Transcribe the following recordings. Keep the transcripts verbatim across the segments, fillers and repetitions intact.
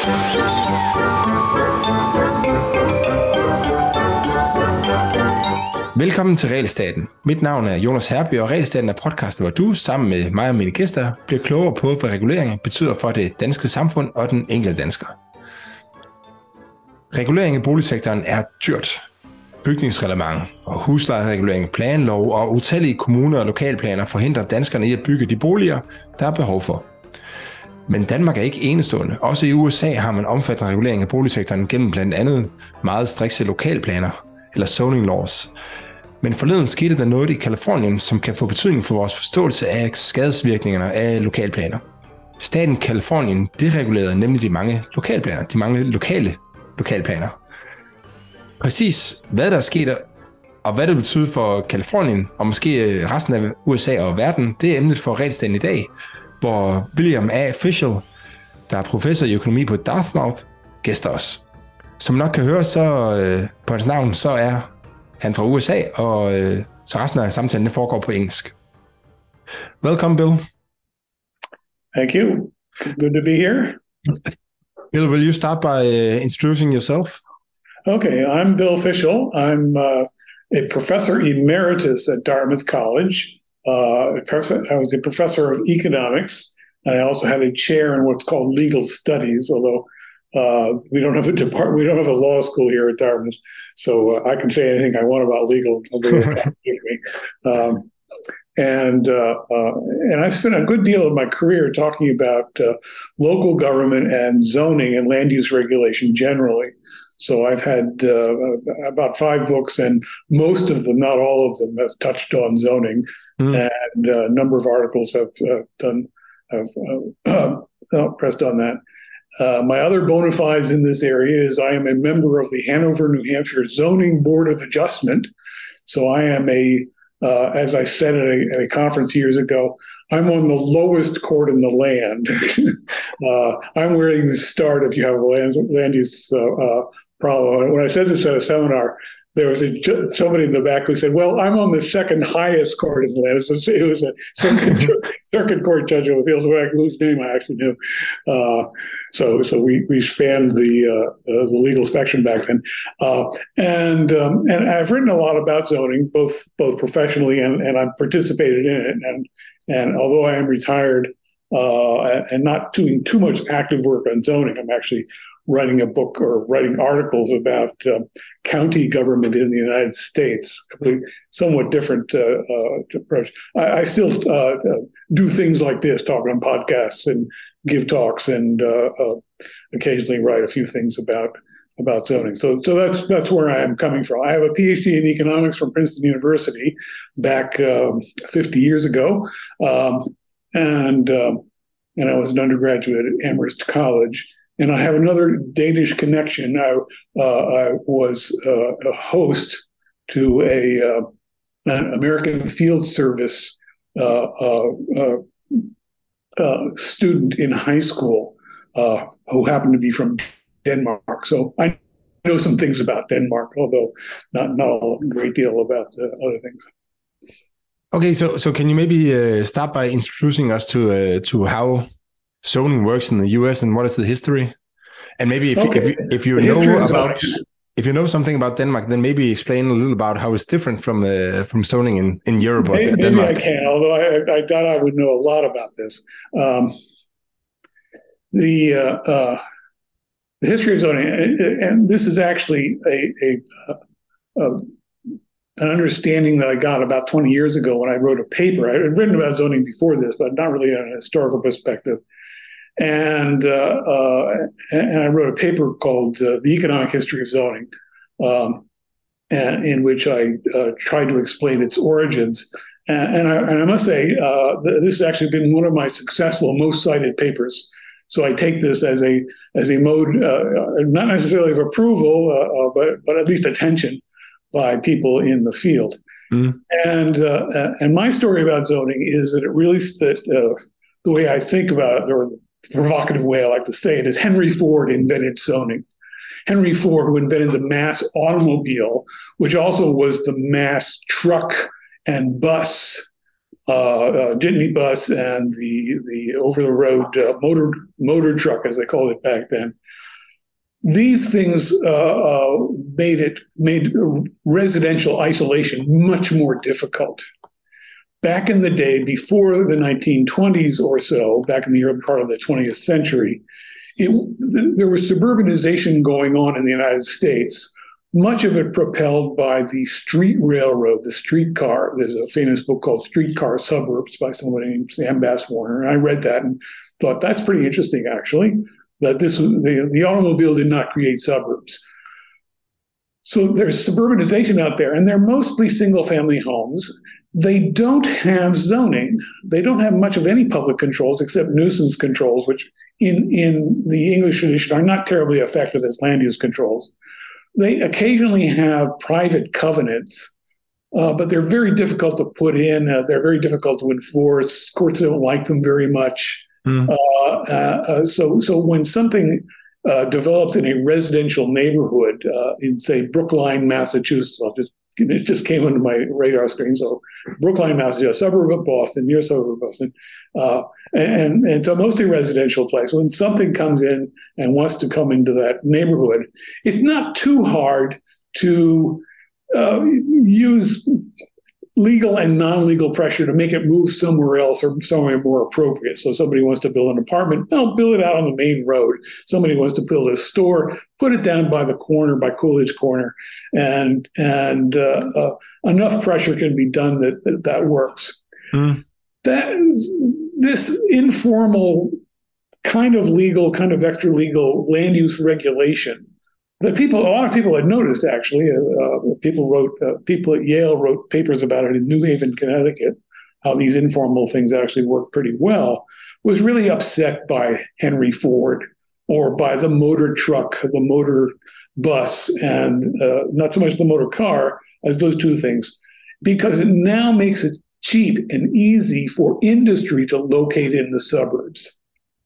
Velkommen til Realstaten. Mit navn er Jonas Herby, og Realstaten er podcasten, hvor du sammen med mig og mine gæster bliver klogere på, hvad regulering betyder for det danske samfund og den enkelte dansker. Regulering i boligsektoren er dyrt. Bygningsreglement og huslejeregulering, planlov og utallige kommuner og lokalplaner forhindrer danskerne i at bygge de boliger, der er behov for. Men Danmark er ikke enestående. Også i U S A har man omfattende regulering af boligsektoren gennem blandt andet meget strikse lokalplaner eller zoning laws. Men forleden skete der noget i Kalifornien, som kan få betydning for vores forståelse af skadesvirkningerne af lokalplaner. Staten Kalifornien deregulerede nemlig de mange lokalplaner, de mange lokale lokalplaner. Præcis hvad der er sket, og hvad det betyder for Kalifornien, og måske resten af U S A og verden, det er emnet for Realstaten i dag, hvor William A. Fischel, der er professor i økonomi på Dartmouth, gæster os. Som nok kan høre, så øh, på hans navn, så er han fra U S A, og øh, så resten af samtalen foregår på engelsk. Welcome, Bill. Thank you. Good to be here. Bill, will you start by uh, introducing yourself? Okay, I'm Bill Fischel. I'm uh, a professor emeritus at Dartmouth College. Uh, I was a professor of economics, and I also had a chair in what's called legal studies, although Uh, we don't have a department. We don't have a law school here at Dartmouth, so uh, I can say anything I want about legal. me. Um, and uh, uh, and I spent a good deal of my career talking about uh, local government and zoning and land use regulation generally. So I've had uh, about five books, and most of them, not all of them, have touched on zoning, mm. and a number of articles have uh, done have uh, uh, pressed on that. Uh, my other bona fides in this area is I am a member of the Hanover, New Hampshire Zoning Board of Adjustment. So I am a, uh, as I said at a, at a conference years ago, I'm on the lowest court in the land. uh, I'm where you start if you have a land, land use uh, uh, problem. When I said this at a seminar, there was a, somebody in the back who said, well, I'm on the second highest court in the land. It was, it was a circuit, circuit court judge of appeals, whose name I actually knew. Uh, so so we, we spanned the, uh, uh, the legal spectrum back then. Uh, and um, and I've written a lot about zoning, both both professionally and, and I've participated in it. And, and although I am retired uh, and not doing too much active work on zoning, I'm actually writing a book or writing articles about uh, county government in the United States, somewhat different uh, uh, approach. I, I still uh, uh, do things like this, talk on podcasts and give talks, and uh, uh, occasionally write a few things about about zoning. So, so that's that's where I am coming from. I have a PhD in economics from Princeton University back um, fifty years ago, um, and um, and I was an undergraduate at Amherst College. And I have another Danish connection. I, uh, I was uh, a host to a uh, an American Field Service uh, uh, uh, uh, student in high school uh, who happened to be from Denmark. So I know some things about Denmark, although not, not a great deal about uh, other things. Okay, so so can you maybe uh, start by introducing us to uh, to how zoning works in the U S and what is the history? And maybe if, okay. if, if you the know about if you know something about Denmark, then maybe explain a little about how it's different from the from zoning in, in Europe or maybe, Denmark. Maybe I can, although I, I doubt I would know a lot about this. Um, the uh, uh, the history of zoning, and this is actually a, a, a an understanding that I got about twenty years ago when I wrote a paper. I had written about zoning before this, but not really on a historical perspective. And uh, uh, and I wrote a paper called uh, The Economic History of Zoning, um, and, in which I uh, tried to explain its origins. And, and, I, and I must say, uh, this has actually been one of my successful, most cited papers. So I take this as a as a mode, uh, not necessarily of approval, uh, uh, but but at least attention by people in the field. Mm. And uh, and my story about zoning is that it really that uh, the way I think about it, or the provocative way I like to say it, is Henry Ford invented zoning. Henry Ford, who invented the mass automobile, which also was the mass truck and bus uh, uh, jitney bus and the the over the road uh, motor motor truck, as they called it back then. These things uh, uh, made it made residential isolation much more difficult. Back in the day, before the nineteen twenties or so, back in the early part of the twentieth century, it, th- there was suburbanization going on in the United States, much of it propelled by the street railroad, the streetcar. There's a famous book called Streetcar Suburbs by somebody named Sam Bass Warner. And I read that and thought, that's pretty interesting, actually, that this the, the automobile did not create suburbs. So there's suburbanization out there, and they're mostly single-family homes. They don't have zoning. They don't have much of any public controls except nuisance controls, which in, in the English tradition are not terribly effective as land use controls. They occasionally have private covenants, uh, but they're very difficult to put in. Uh, they're very difficult to enforce. Courts don't like them very much. Mm. Uh, uh, so, so when something uh, develops in a residential neighborhood uh, in, say, Brookline, Massachusetts, I'll just it just came onto my radar screen. So, Brookline, Massachusetts, a suburb of Boston, near suburb of Boston, uh, and and so mostly residential place. When something comes in and wants to come into that neighborhood, it's not too hard to uh, use legal and non-legal pressure to make it move somewhere else or somewhere more appropriate. So somebody wants to build an apartment, no, build it out on the main road. Somebody wants to build a store, put it down by the corner, by Coolidge Corner, and and uh, uh, enough pressure can be done that that, that works. Mm. That is, this informal kind of legal, kind of extra legal land use regulation that people, a lot of people had noticed, actually. Uh, people wrote, uh, people at Yale wrote papers about it in New Haven, Connecticut, how these informal things actually work pretty well, was really upset by Henry Ford or by the motor truck, the motor bus, and uh, not so much the motor car as those two things, because it now makes it cheap and easy for industry to locate in the suburbs.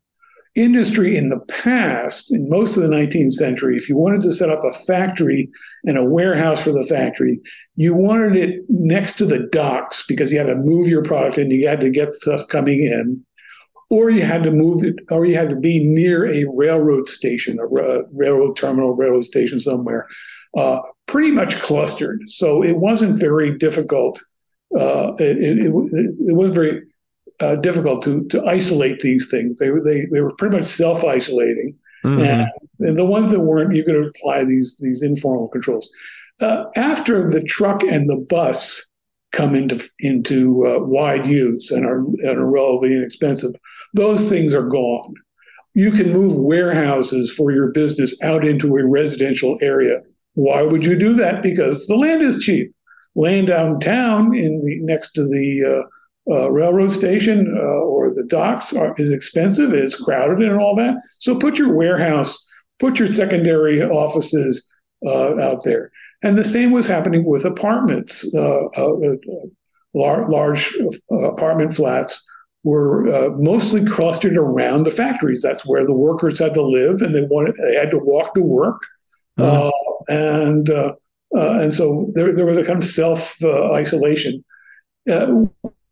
Industry in the past, in most of the nineteenth century, if you wanted to set up a factory and a warehouse for the factory, you wanted it next to the docks because you had to move your product and you had to get stuff coming in, or you had to move it, or you had to be near a railroad station, a railroad terminal, railroad station somewhere, uh, pretty much clustered. So it wasn't very difficult. Uh, it, it, it, it was very Uh, difficult to to isolate these things. They were they they were pretty much self-isolating, mm-hmm. and, and the ones that weren't, you could apply these these informal controls. Uh, after the truck and the bus come into into uh, wide use and are, and are relatively inexpensive, those things are gone. You can move warehouses for your business out into a residential area. Why would you do that? Because the land is cheap. Land downtown in the next to the uh, Uh, railroad station uh, or the docks are, is expensive, it's crowded and all that. So put your warehouse, put your secondary offices uh, out there. And the same was happening with apartments. Uh, uh, uh, lar- large uh, apartment flats were uh, mostly clustered around the factories. That's where the workers had to live, and they wanted they had to walk to work. Mm-hmm. Uh, and uh, uh, and so there, there was a kind of self uh, isolation. Uh,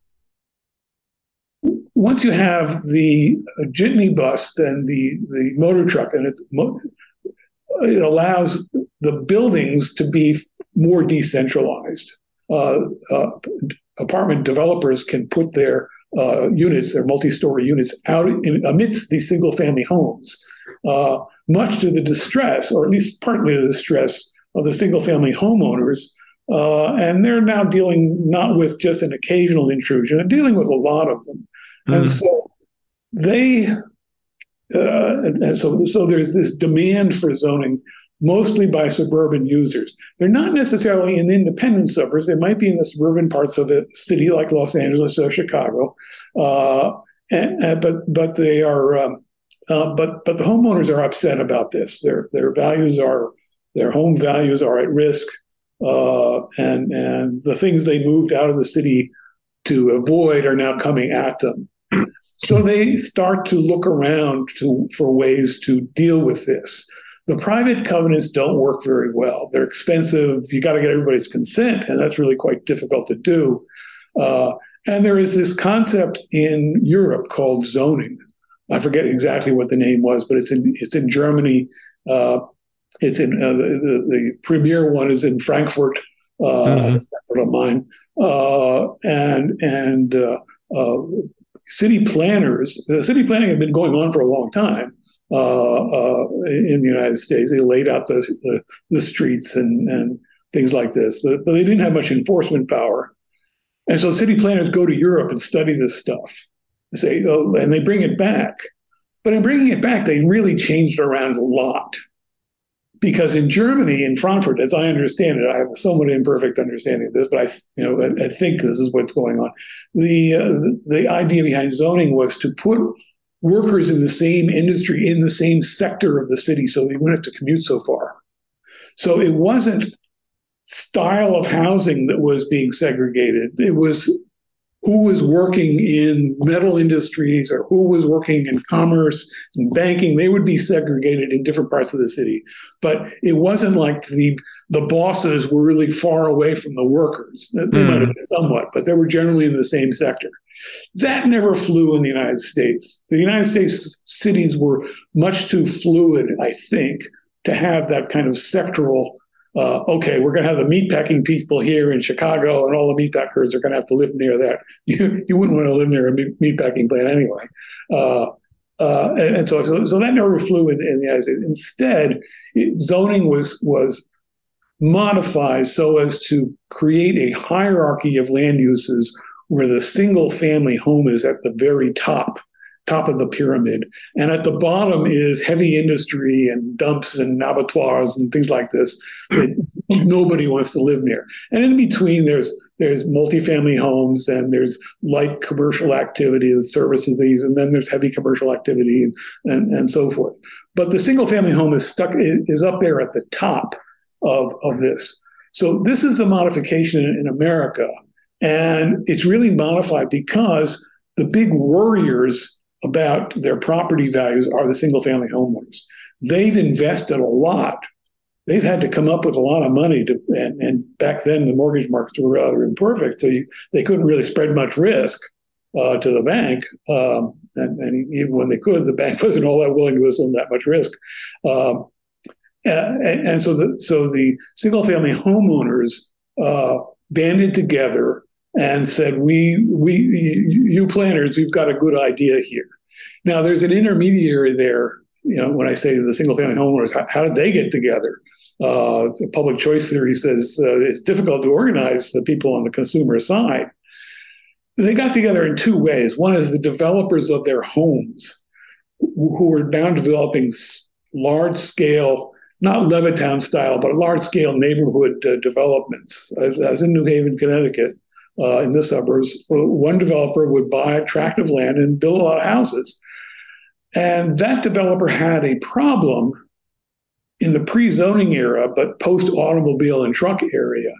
Once you have the jitney bus, then the, the motor truck, and it's, it allows the buildings to be more decentralized. Uh, uh, apartment developers can put their uh, units, their multi-story units, out in, amidst these single-family homes, uh, much to the distress, or at least partly to the distress of the single-family homeowners. Uh, and they're now dealing not with just an occasional intrusion, they're dealing with a lot of them. And mm. so they, uh, and, and so so there's this demand for zoning, mostly by suburban users. They're not necessarily in independent suburbs. They might be in the suburban parts of a city like Los Angeles or Chicago, uh, and, and, but but they are, um, uh, but but the homeowners are upset about this. Their their values are their home values are at risk, uh, and and the things they moved out of the city to avoid are now coming at them. So they start to look around to, for ways to deal with this. The private covenants don't work very well. They're expensive. You got to get everybody's consent, and that's really quite difficult to do. Uh, And there is this concept in Europe called zoning. I forget exactly what the name was, but it's in it's in Germany. Uh, it's in uh, the, the premier one is in Frankfurt, uh, mm-hmm. Frankfurt am Main, uh, and and uh, uh, city planners. Uh, city planning had been going on for a long time uh, uh, in the United States. They laid out the the, the streets and and things like this, but they didn't have much enforcement power. And so city planners go to Europe and study this stuff. They say, oh, and they bring it back. But in bringing it back, they really changed around a lot. Because in Germany, in Frankfurt, as I understand it, I have a somewhat imperfect understanding of this, but I, you know, I, I think this is what's going on. The uh, the idea behind zoning was to put workers in the same industry, in the same sector of the city, so they wouldn't have to commute so far. So it wasn't style of housing that was being segregated. It was who was working in metal industries or who was working in commerce and banking. They would be segregated in different parts of the city. But it wasn't like the the bosses were really far away from the workers. They mm. might have been somewhat, but they were generally in the same sector. That never flew in the United States. The United States cities were much too fluid, I think, to have that kind of sectoral Uh, okay, we're going to have the meatpacking people here in Chicago, and all the meatpackers are going to have to live near that. You, you wouldn't want to live near a meatpacking plant anyway. Uh, uh, and, and so, so, so that never flew in, in the United States. Instead, it, zoning was was modified so as to create a hierarchy of land uses where the single-family home is at the very top. top of the pyramid. And at the bottom is heavy industry and dumps and abattoirs and things like this that nobody wants to live near. And in between, there's there's multifamily homes and there's light commercial activity, the services these, and then there's heavy commercial activity and, and, and so forth. But the single family home is stuck, is up there at the top of, of this. So this is the modification in, in America. And it's really modified because the big warriors about their property values are the single-family homeowners. They've invested a lot. They've had to come up with a lot of money to, and, and back then the mortgage markets were rather imperfect, so you, they couldn't really spread much risk uh, to the bank. Um, and, and even when they could, the bank wasn't all that willing to assume that much risk. Um, and, and so the so the single-family homeowners uh, banded together and said, we, we, you planners, you've got a good idea here. Now, there's an intermediary there. You know, when I say the single-family homeowners, how, how did they get together? Uh, public choice theory says uh, it's difficult to organize the people on the consumer side. They got together in two ways. One is the developers of their homes, who were now developing large-scale, not Levittown style, but large-scale neighborhood uh, developments. I, I was in New Haven, Connecticut. Uh, in the suburbs, one developer would buy a tract of land and build a lot of houses. And that developer had a problem in the pre-zoning era, but post-automobile and truck area,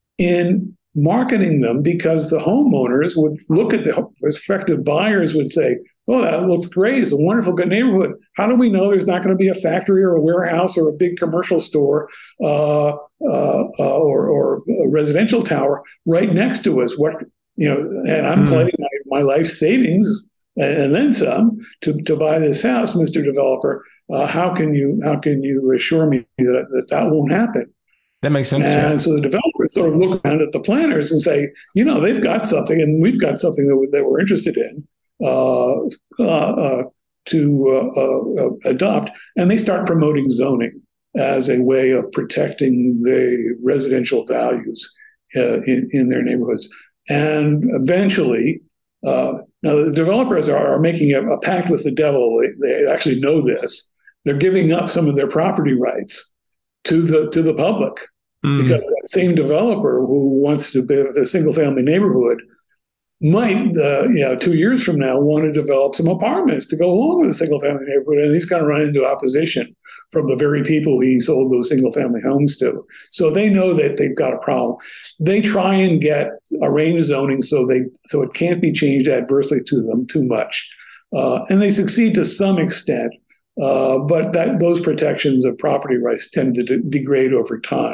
in marketing them, because the homeowners would look at the prospective buyers would say, oh, that looks great. It's a wonderful, good neighborhood. How do we know there's not going to be a factory or a warehouse or a big commercial store uh, uh, uh, or, or a residential tower right next to us? What, you know, and I'm mm-hmm. pledging my, my life savings and then some to, to buy this house, Mister Developer. Uh, how can you how can you assure me that that, that won't happen? That makes sense. And yeah. so the developers sort of look around at the planners and say, you know, they've got something, and we've got something that, we, that we're interested in. Uh, uh, uh, to uh, uh, adopt, and they start promoting zoning as a way of protecting the residential values uh, in, in their neighborhoods. And eventually, uh, now the developers are, are making a, a pact with the devil. They, they actually know this. They're giving up some of their property rights to the to the public mm. because that same developer who wants to build a single-family neighborhood might, uh, you know, two years from now want to develop some apartments to go along with a single-family neighborhood, and he's going to run into opposition from the very people he sold those single-family homes to. So they know that they've got a problem. They try and get arranged zoning so they so it can't be changed adversely to them too much, uh, and they succeed to some extent. Uh, but that those protections of property rights tend to de- degrade over time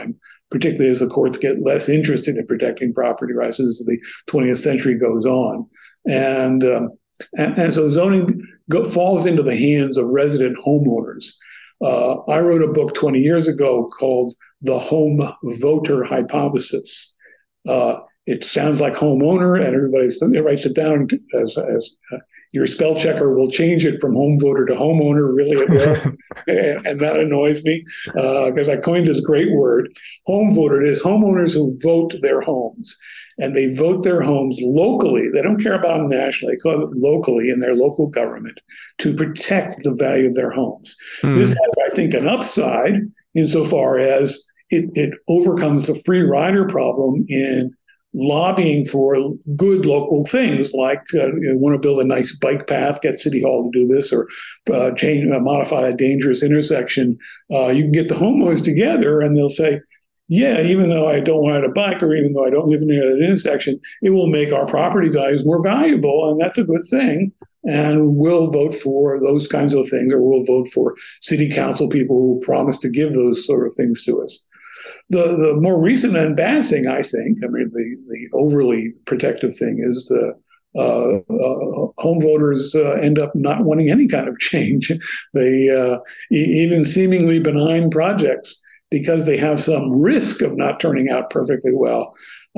particularly as the courts get less interested in protecting property rights as the twentieth century goes on. And um, and, and so zoning go, falls into the hands of resident homeowners. Uh, I wrote a book twenty years ago called The Home Voter Hypothesis. Uh, it sounds like homeowner, and everybody writes it down as, as uh, your spell checker will change it from home voter to homeowner, really it will. and, and that annoys me because uh, I coined this great word. Home voter is homeowners who vote their homes. And they vote their homes locally. They don't care about them nationally. They call it locally in their local government to protect the value of their homes. Mm. This has, I think, an upside insofar as it, it overcomes the free rider problem in lobbying for good local things, like uh, you want to build a nice bike path, get City Hall to do this, or uh, change, uh, modify a dangerous intersection. Uh, you can get the homeowners together, and they'll say, yeah, even though I don't want to bike, or even though I don't live near that intersection, it will make our property values more valuable, and that's a good thing. And we'll vote for those kinds of things, or we'll vote for city council people who promise to give those sort of things to us. The the more recent and bad thing, I think, I mean, the, the overly protective thing is the uh, uh, home voters uh, end up not wanting any kind of change. They uh, e- even seemingly benign projects, because they have some risk of not turning out perfectly well,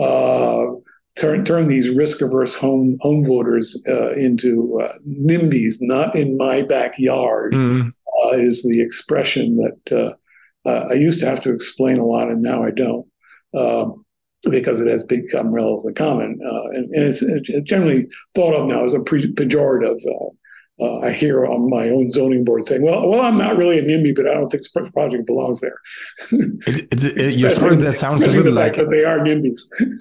uh, turn turn these risk-averse home home voters uh, into uh, NIMBYs, not in my backyard, mm. uh, is the expression that uh, uh, I used to have to explain a lot, and now I don't, uh, because it has become relatively common. Uh, and, and it's, it's generally thought of now as a pre- pejorative. Uh, Uh, I hear on my own zoning board saying, well, well, I'm not really a NIMBY, but I don't think this project belongs there. It, it's, it, your story that sounds a little like... That they are NIMBYs.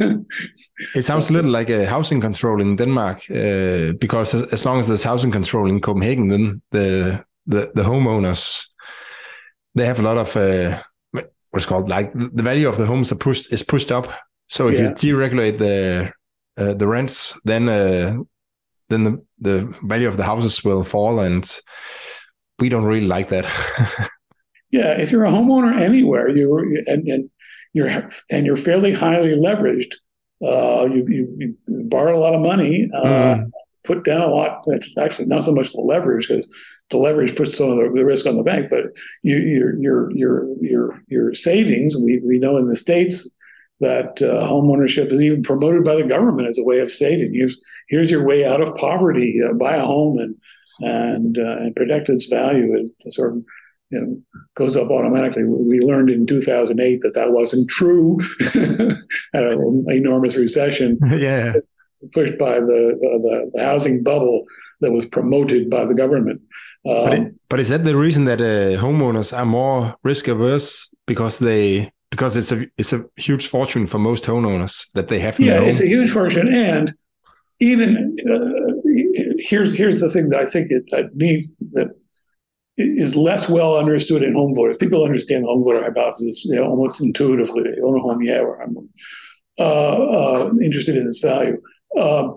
It sounds a little like a housing control in Denmark, uh, because as, as long as there's housing control in Copenhagen, then the the, the homeowners, they have a lot of, uh, what's called, like the value of the homes are pushed, is pushed up. So if yeah. you deregulate the, uh, the rents, then... Uh, then the, the value of the houses will fall, and we don't really like that. Yeah, if you're a homeowner anywhere, you and, and you're and you're fairly highly leveraged, uh, you, you, you borrow a lot of money, uh, mm. put down a lot. It's actually not so much the leverage, because the leverage puts some of the, the risk on the bank, but you, your your your your your savings. We we know in the States that uh, home ownership is even promoted by the government as a way of saving. Here's here's your way out of poverty. Uh, buy a home and and uh, and protect its value. It sort of you know goes up automatically. We learned in two thousand eight that that wasn't true. Had an enormous recession. Yeah, pushed by the, the the housing bubble that was promoted by the government. Um, but, it, but is that the reason that uh, homeowners are more risk averse, because they Because it's a it's a huge fortune for most homeowners that they have. Yeah, it's a huge fortune, and even uh, here's here's the thing that I think it that me that is less well understood in home voters. People understand the home voter hypothesis, you know, almost intuitively. They own a home, yeah, where I'm uh, uh, interested in its value. Uh,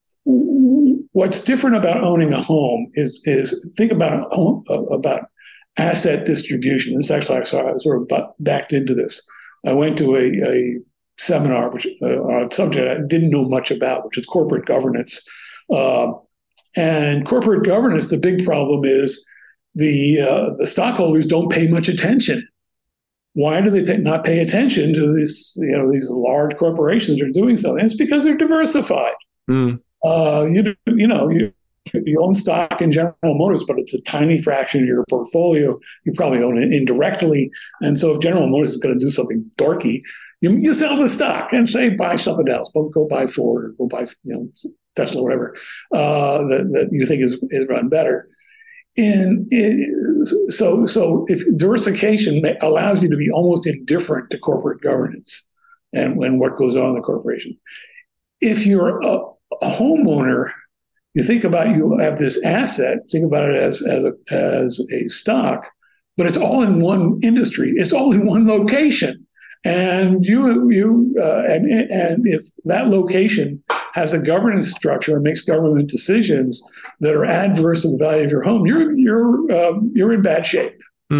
what's different about owning a home is is think about home, uh, about asset distribution. This actually, I saw, I sort of backed into this. I went to a, a seminar which uh, on a subject I didn't know much about, which is corporate governance. Uh, and corporate governance, the big problem is the uh, the stockholders don't pay much attention. Why do they pay, not pay attention to these you know these large corporations that are doing something? It's because they're diversified. Mm. Uh, you you know you. You own stock in General Motors, but it's a tiny fraction of your portfolio. You probably own it indirectly. And so if General Motors is going to do something dorky, you, you sell the stock and say, buy something else. Go, go buy Ford or go buy you know, Tesla, whatever, uh, that, that you think is, is run better. And it, so, so if diversification allows you to be almost indifferent to corporate governance and, and what goes on in the corporation. If you're a, a homeowner, you think about you have this asset, think about it as as a, as a stock, but it's all in one industry. It's all in one location. And you you uh, and and if that location has a governance structure and makes government decisions that are adverse to the value of your home, you're you're um, you're in bad shape. Mm.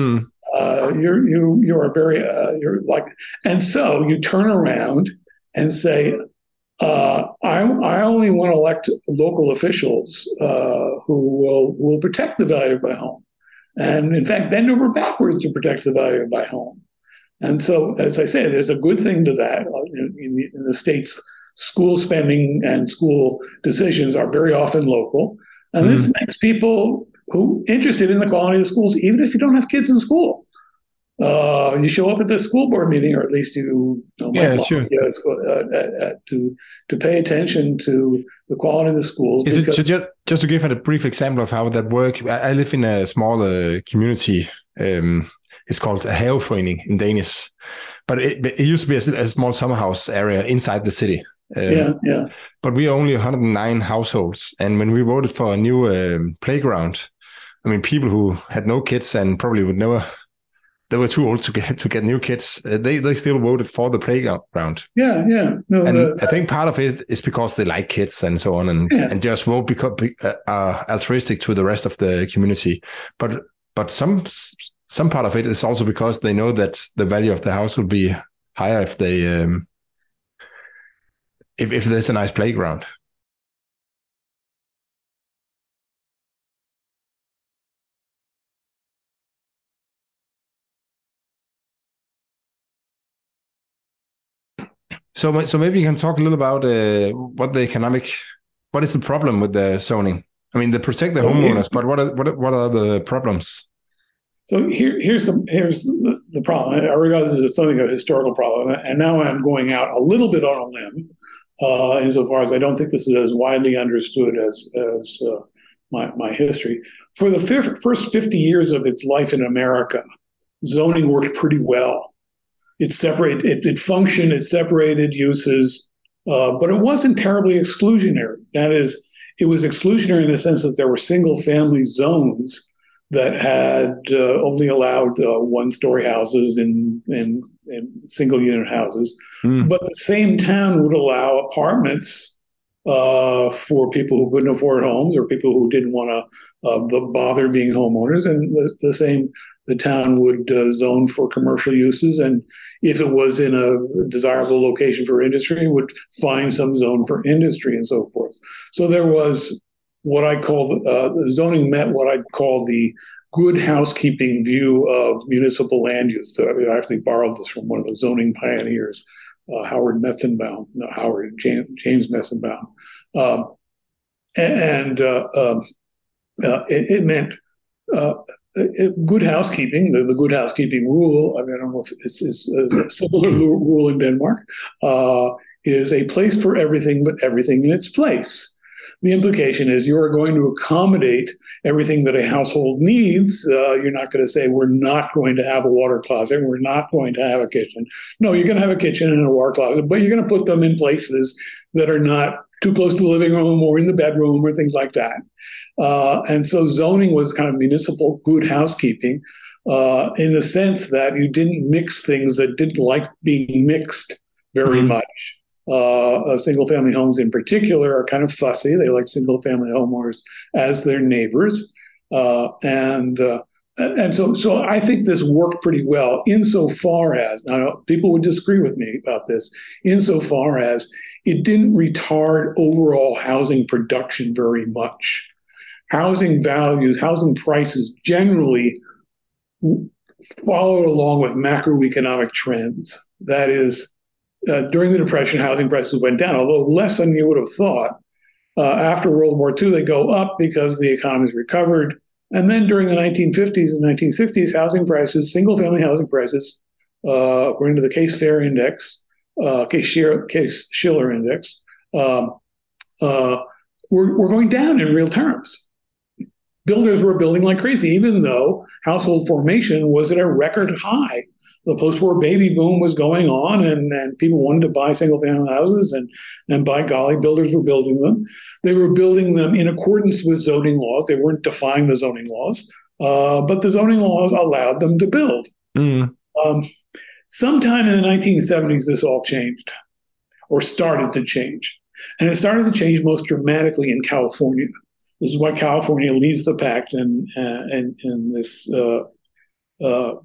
Uh, you're you you are very uh, you're like, and so you turn around and say, uh, I I only want to elect local officials uh, who will will protect the value of my home, and in fact bend over backwards to protect the value of my home. And so, as I say, there's a good thing to that. In, in, the, in the states, school spending and school decisions are very often local, and mm. this makes people who interested in the quality of the schools, even if you don't have kids in school. Uh, you show up at the school board meeting, or at least you, you know, yeah, sure. uh, uh, to to pay attention to the quality of the schools. Is it just just to give a brief example of how that works? I live in a small uh, community. Um, it's called a haveforening in Danish, but it, it used to be a, a small summer house area inside the city. Um, yeah, yeah. But we are only one hundred nine households, and when we voted for a new um, playground, I mean, people who had no kids and probably would never. They were too old to get to get new kids. Uh, they they still voted for the playground. Yeah, yeah. No, and uh, I think part of it is because they like kids and so on, and yeah. and just won't become uh, uh, altruistic to the rest of the community. But but some some part of it is also because they know that the value of the house will be higher if they um, if if there's a nice playground. So, so maybe you can talk a little about uh, what the economic, what is the problem with the zoning? I mean, they protect the so homeowners, but what are what what are the problems? So here, here's the here's the, the problem. I regard this as something of a historical problem, and now I'm going out a little bit on a limb, uh, insofar as I don't think this is as widely understood as as uh, my my history. For the fif- first fifty years of its life in America, zoning worked pretty well. It separated, it, it functioned, it separated uses, uh, but it wasn't terribly exclusionary. That is, it was exclusionary in the sense that there were single family zones that had uh, only allowed uh, one story houses and, and, and single unit houses. Mm. But the same town would allow apartments uh, for people who couldn't afford homes or people who didn't want to uh, bother being homeowners. And the, the same The town would uh, zone for commercial uses, and if it was in a desirable location for industry, would find some zone for industry and so forth. So there was what I call uh, zoning met what I'd call the good housekeeping view of municipal land use. So I actually borrowed this from one of the zoning pioneers, uh, Howard Metzenbaum, no, Howard James, James Metzenbaum, um, and uh, uh, uh, it, it meant. Uh, Good housekeeping, the, the good housekeeping rule, I mean, I don't know if it's, it's a similar rule in Denmark, uh, is a place for everything, but everything in its place. The implication is you are going to accommodate everything that a household needs. Uh, you're not going to say, we're not going to have a water closet, we're not going to have a kitchen. No, you're going to have a kitchen and a water closet, but you're going to put them in places that are not too close to the living room or in the bedroom or things like that. Uh, and so zoning was kind of municipal good housekeeping uh, in the sense that you didn't mix things that didn't like being mixed very mm-hmm. much. Uh, uh, single family homes in particular are kind of fussy. They like single family homeowners as their neighbors. Uh, and uh, and so so I think this worked pretty well insofar as, now people would disagree with me about this, insofar as it didn't retard overall housing production very much. Housing values, housing prices generally followed along with macroeconomic trends. That is, uh, during the Depression, housing prices went down, although less than you would have thought. Uh, after World War Two, they go up because the economy's recovered. And then during the nineteen fifties and nineteen sixties, housing prices, single-family housing prices, uh, according to the Case-Fair Index, uh, Case-Shiller Index, um, uh, were, were going down in real terms. Builders were building like crazy, even though household formation was at a record high. The post-war baby boom was going on, and, and people wanted to buy single-family houses, and, and by golly, builders were building them. They were building them in accordance with zoning laws. They weren't defying the zoning laws, uh, but the zoning laws allowed them to build. Mm. Um, sometime in the nineteen seventies, this all changed, or started to change. And it started to change most dramatically in California. This is why California leads the pack in, uh, in, in this uh, uh,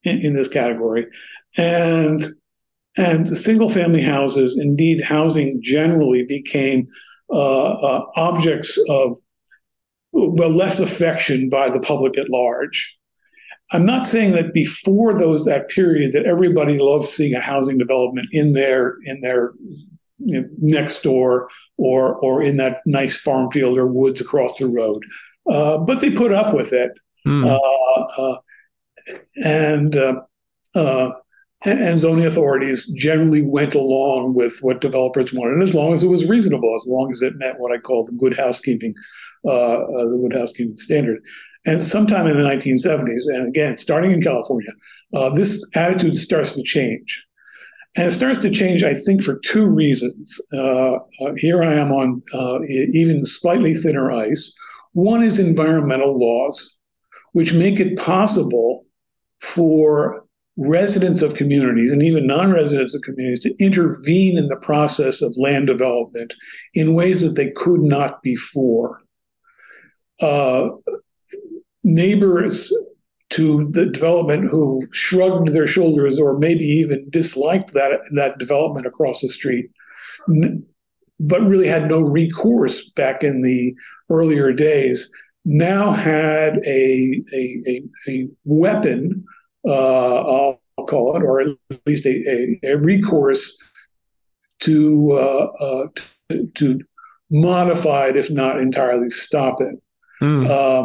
in, in this category. And and single-family houses, indeed housing generally, became uh, uh, objects of, well, less affection by the public at large. I'm not saying that before those that period that everybody loved seeing a housing development in their in their you know, next door or or in that nice farm field or woods across the road, uh, but they put up with it, mm. uh, uh, and, uh, uh, and and zoning authorities generally went along with what developers wanted, as long as it was reasonable, as long as it met what I call the good housekeeping, uh, uh, the good housekeeping standard. And sometime in the nineteen seventies, and again, starting in California, uh, this attitude starts to change. And it starts to change, I think, for two reasons. Uh, uh, here I am on uh, even slightly thinner ice. One is environmental laws, which make it possible for residents of communities and even non-residents of communities to intervene in the process of land development in ways that they could not before. Uh, Neighbors to the development who shrugged their shoulders or maybe even disliked that, that development across the street, but really had no recourse back in the earlier days, now had a, a, a, a weapon, uh, I'll call it, or at least a, a, a recourse to, uh, uh, to, to modify it, if not entirely stop it. Mm. Um,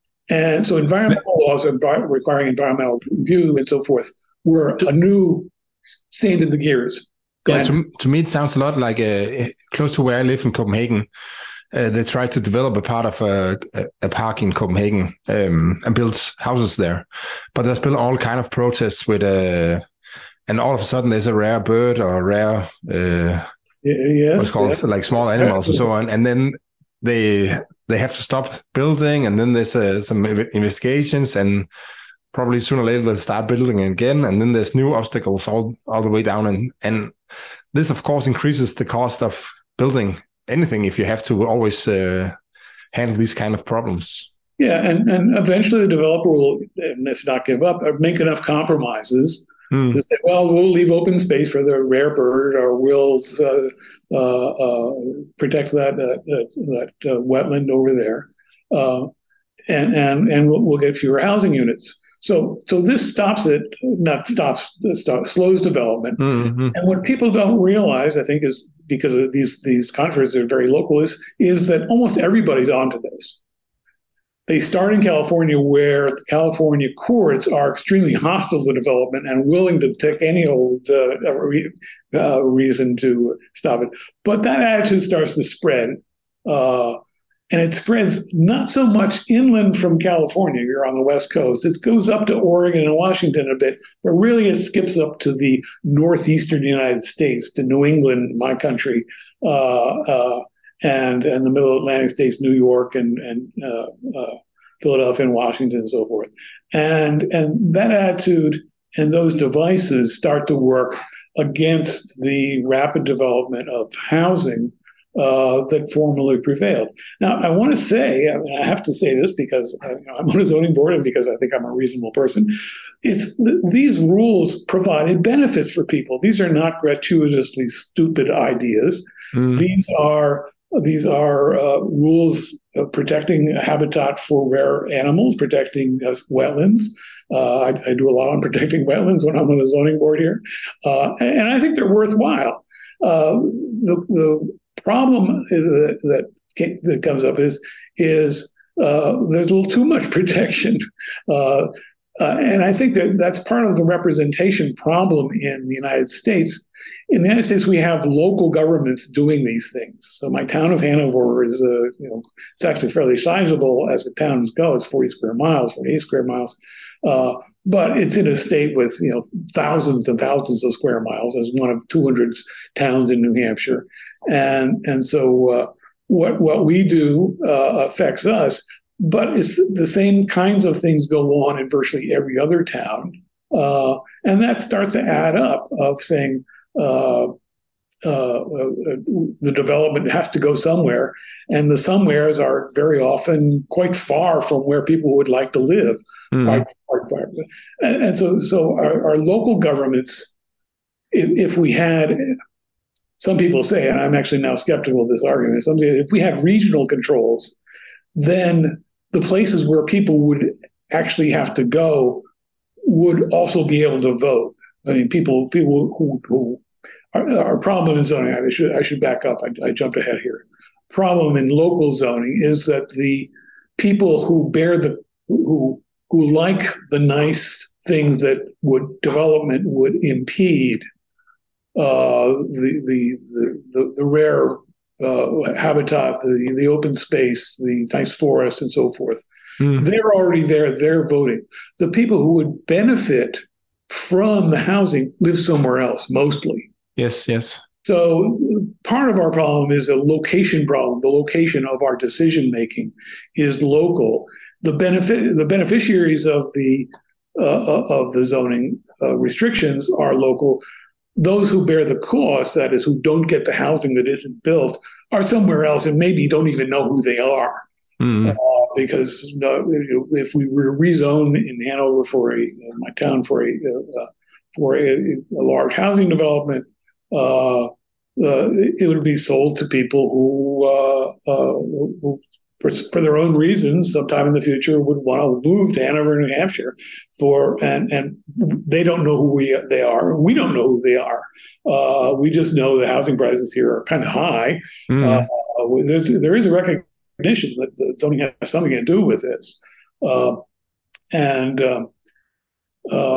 And so environmental laws requiring environmental review and so forth were a new stand in the gears. Yeah, to, to me, it sounds a lot like uh, close to where I live in Copenhagen. Uh, they tried to develop a part of a, a park in Copenhagen um, and build houses there. But there's been all kind of protests with, uh, and all of a sudden there's a rare bird or a rare, uh, yes, what's called yeah. like small animals and so on. And then they they have to stop building, and then there's uh, some investigations, and probably sooner or later they'll start building again, and then there's new obstacles all, all the way down. And, and this, of course, increases the cost of building anything if you have to always uh, handle these kind of problems. Yeah, and, and eventually the developer will, if not give up, make enough compromises mm. to say, well, we'll leave open space for the rare bird, or we'll uh, uh, uh, protect that uh, that, that uh, wetland over there, uh, and and and we'll, we'll get fewer housing units. So so this stops it, not stops, stops slows development. Mm-hmm. And what people don't realize, I think, is because of these these controversies are very local, is is that almost everybody's onto this. They start in California, where the California courts are extremely hostile to development and willing to take any old uh, re- uh, reason to stop it. But that attitude starts to spread, uh, and it spreads not so much inland from California. You're on the West Coast. It goes up to Oregon and Washington a bit, but really it skips up to the northeastern United States, to New England, my country, uh, uh, and and the Middle Atlantic states, New York and and uh, uh, Philadelphia and Washington and so forth, and and that attitude and those devices start to work against the rapid development of housing uh, that formerly prevailed. Now, I want to say, I, mean, I have to say this because I, you know, I'm on a zoning board and because I think I'm a reasonable person. It's th- these rules provided benefits for people. These are not gratuitously stupid ideas. Mm. These are These are uh, rules of protecting habitat for rare animals, protecting uh, wetlands. Uh, I, I do a lot on protecting wetlands when I'm on the zoning board here. Uh, and I think they're worthwhile. Uh, the, the problem that, that, that comes up is, is uh, there's a little too much protection. Uh, Uh, and I think that that's part of the representation problem in the United States. In the United States, we have local governments doing these things. So my town of Hanover is, uh, you know, it's actually fairly sizable as the towns go. It's forty square miles, forty-eight square miles. Uh, but it's in a state with, you know, thousands and thousands of square miles as one of two hundred towns in New Hampshire. And, and so uh, what, what we do uh, affects us. But it's the same kinds of things go on in virtually every other town. Uh, and that starts to add up of saying, uh, uh, uh, the development has to go somewhere, and the somewheres are very often quite far from where people would like to live. Mm. Quite, quite far. And, and so, so our, our local governments, if, if we had, some people say, and I'm actually now skeptical of this argument, some say if we had regional controls, then the places where people would actually have to go would also be able to vote. I mean, people people who, who our, our problem in zoning, I should I should back up. I, I jumped ahead here. Problem in local zoning is that the people who bear the who who like the nice things that would development would impede, uh, the, the the the the rare uh, habitat, the the open space, the nice forest, and so forth. Mm. They're already there. They're voting. The people who would benefit from the housing live somewhere else, mostly. Yes, yes. So part of our problem is a location problem. The location of our decision making is local. The benefit, the beneficiaries of the uh, of the zoning uh, restrictions are local. Those who bear the cost, that is, who don't get the housing that isn't built, are somewhere else and maybe don't even know who they are. Mm. Uh, because uh, if we were to rezone in Hanover for a my town for a uh, for a, a large housing development, uh, uh, it would be sold to people who, uh, uh, who for, for their own reasons, sometime in the future, would want to move to Hanover, New Hampshire, for and and they don't know who we they are. We don't know who they are. Uh, we just know the housing prices here are kind of high. Mm. Uh, there's, there is a recognition that zoning has something to do with this, uh, and um, uh,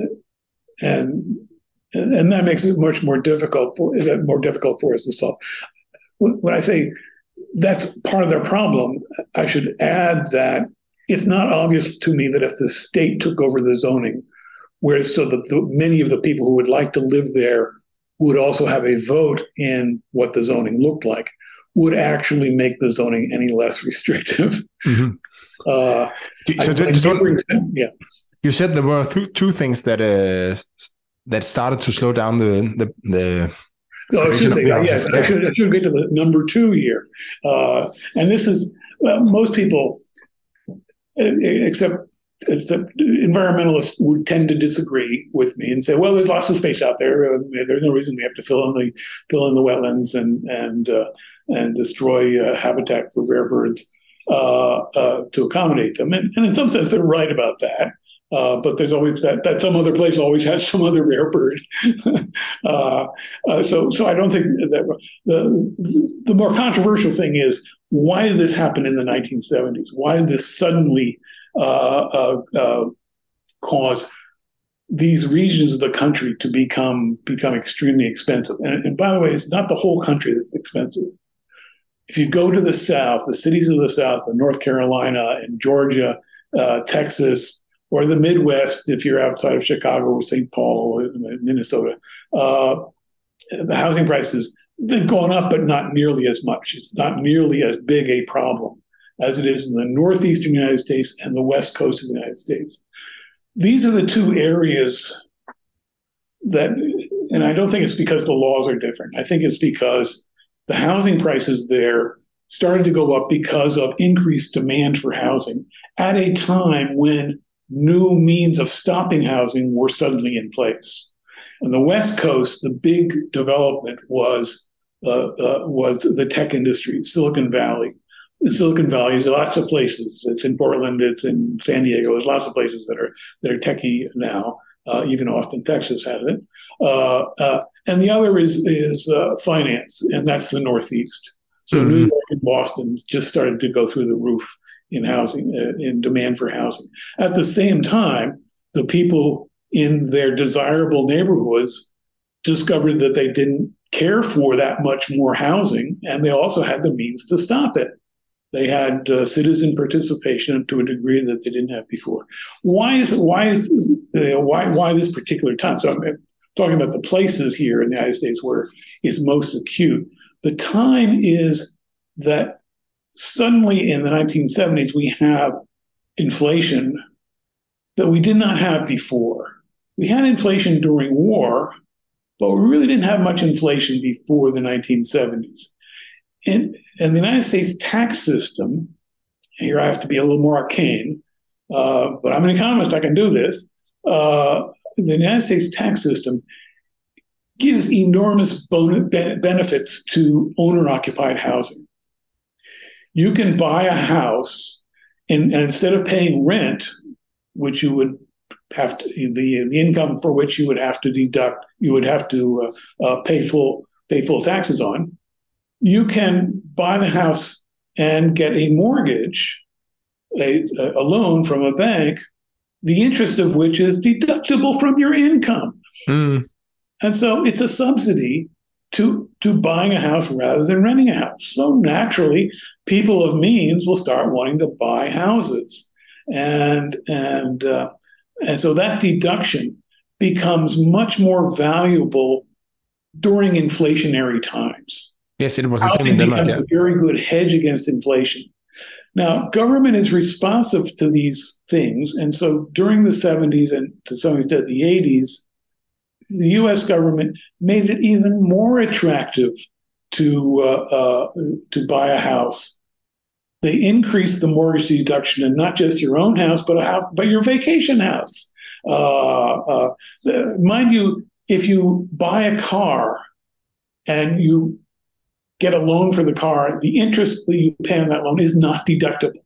and and that makes it much more difficult for more difficult for us to solve. When I say that's part of their problem, I should add that it's not obvious to me that if the state took over the zoning, where so that the, many of the people who would like to live there would also have a vote in what the zoning looked like, would actually make the zoning any less restrictive. Mm-hmm. Uh, so I, just I one, yeah. You said there were th- two things that uh, that started to slow down the the. the no, I should say that. Yes, yeah. I, should, I should get to the number two here, uh, and this is well, most people, except. except environmentalists would tend to disagree with me and say, "Well, there's lots of space out there. Uh, there's no reason we have to fill in the fill in the wetlands and and uh, and destroy uh, habitat for rare birds uh, uh, to accommodate them." And, and in some sense, they're right about that. Uh, but there's always that that some other place always has some other rare bird. uh, uh, so so I don't think that the the more controversial thing is, why did this happen in the nineteen seventies? Why did this suddenly Uh, uh, uh, cause these regions of the country to become become extremely expensive? And, and by the way, it's not the whole country that's expensive. If you go to the South, the cities of the South, of North Carolina and Georgia, uh, Texas, or the Midwest, if you're outside of Chicago or Saint Paul or Minnesota, uh, the housing prices, they've gone up, but not nearly as much. It's not nearly as big a problem as it is in the northeastern United States and the west coast of the United States. These are the two areas that, and I don't think it's because the laws are different. I think it's because the housing prices there started to go up because of increased demand for housing at a time when new means of stopping housing were suddenly in place. On the West Coast, the big development was, uh, uh, was the tech industry, Silicon Valley. In Silicon Valley, there's lots of places. It's in Portland. It's in San Diego. There's lots of places that are that are techie now. Uh, even Austin, Texas, has it. Uh, uh, and the other is is uh, finance, and that's the Northeast. So mm-hmm. New York and Boston just started to go through the roof in housing, uh, in demand for housing. At the same time, the people in their desirable neighborhoods discovered that they didn't care for that much more housing, and they also had the means to stop it. They had uh, citizen participation to a degree that they didn't have before. Why is why is uh, why why this particular time? So I'm talking about the places here in the United States where it's most acute. The time is that suddenly in the nineteen seventies we have inflation that we did not have before. We had inflation during war, but we really didn't have much inflation before the nineteen seventies. And, and the United States tax system, here I have to be a little more arcane, uh, but I'm an economist, I can do this. Uh, the United States tax system gives enormous bon- benefits to owner-occupied housing. You can buy a house, and, and instead of paying rent, which you would have to, the the income for which you would have to deduct, you would have to uh, uh, pay full pay full taxes on, you can buy the house and get a mortgage, a, a loan from a bank, the interest of which is deductible from your income. Mm. And so it's a subsidy to, to buying a house rather than renting a house. So naturally, people of means will start wanting to buy houses. And, and, uh, and so that deduction becomes much more valuable during inflationary times. Yes, it was the same Housing in Denmark. becomes Yeah. a very good hedge against inflation. Now, government is responsive to these things. And so during the seventies and to some extent the eighties, the U S government made it even more attractive to uh, uh, to buy a house. They increased the mortgage deduction, and not just your own house, but a house, but your vacation house. Uh, uh, the, mind you, if you buy a car and you get a loan for the car, the interest that you pay on that loan is not deductible.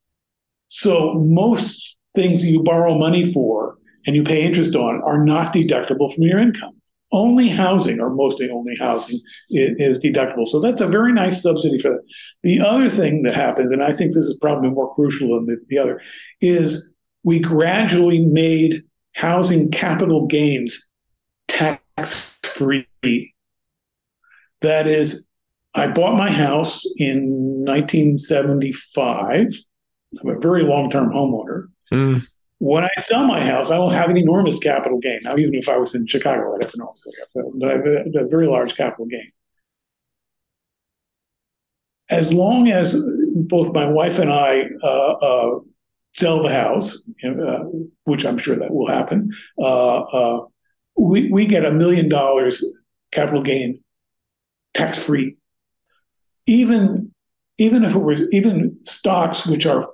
So most things that you borrow money for and you pay interest on are not deductible from your income. Only housing, or mostly only housing, is, is deductible. So that's a very nice subsidy for that. The other thing that happened, and I think this is probably more crucial than the, the other, is we gradually made housing capital gains tax-free. That is, I bought my house in nineteen seventy-five. I'm a very long-term homeowner. Mm. When I sell my house, I will have an enormous capital gain. Now, even if I was in Chicago, I'd have a very large capital gain. As long as both my wife and I uh, uh, sell the house, uh, which I'm sure that will happen, uh, uh, we, we get a million dollars capital gain tax-free. Even, even if it was even stocks which are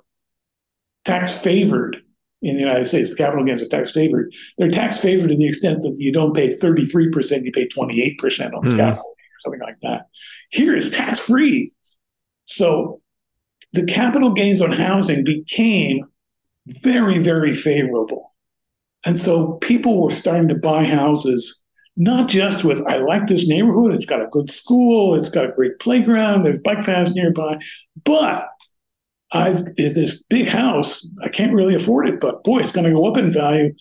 tax favored in the United States, the capital gains are tax favored. They're tax favored to the extent that you don't pay thirty-three percent, you pay twenty-eight percent on the mm. capital gain or something like that. Here it's tax free. So the capital gains on housing became very, very favorable. And so people were starting to buy houses, not just with, I like this neighborhood, it's got a good school, it's got a great playground, there's bike paths nearby, but I've this big house, I can't really afford it, but boy, it's going to go up in value,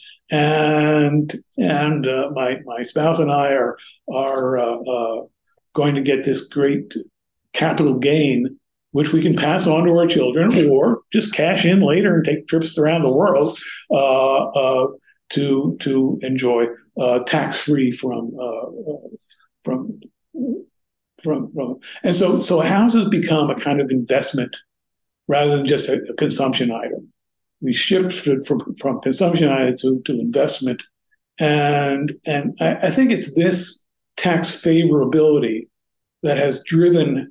and and uh, my my spouse and I are are uh, uh, going to get this great capital gain, which we can pass on to our children, or just cash in later and take trips around the world uh, uh, to to enjoy uh, tax free from, uh, from from from. And so so houses become a kind of investment rather than just a, a consumption item. We shifted from, from consumption item to, to investment. And, and I, I think it's this tax favorability that has driven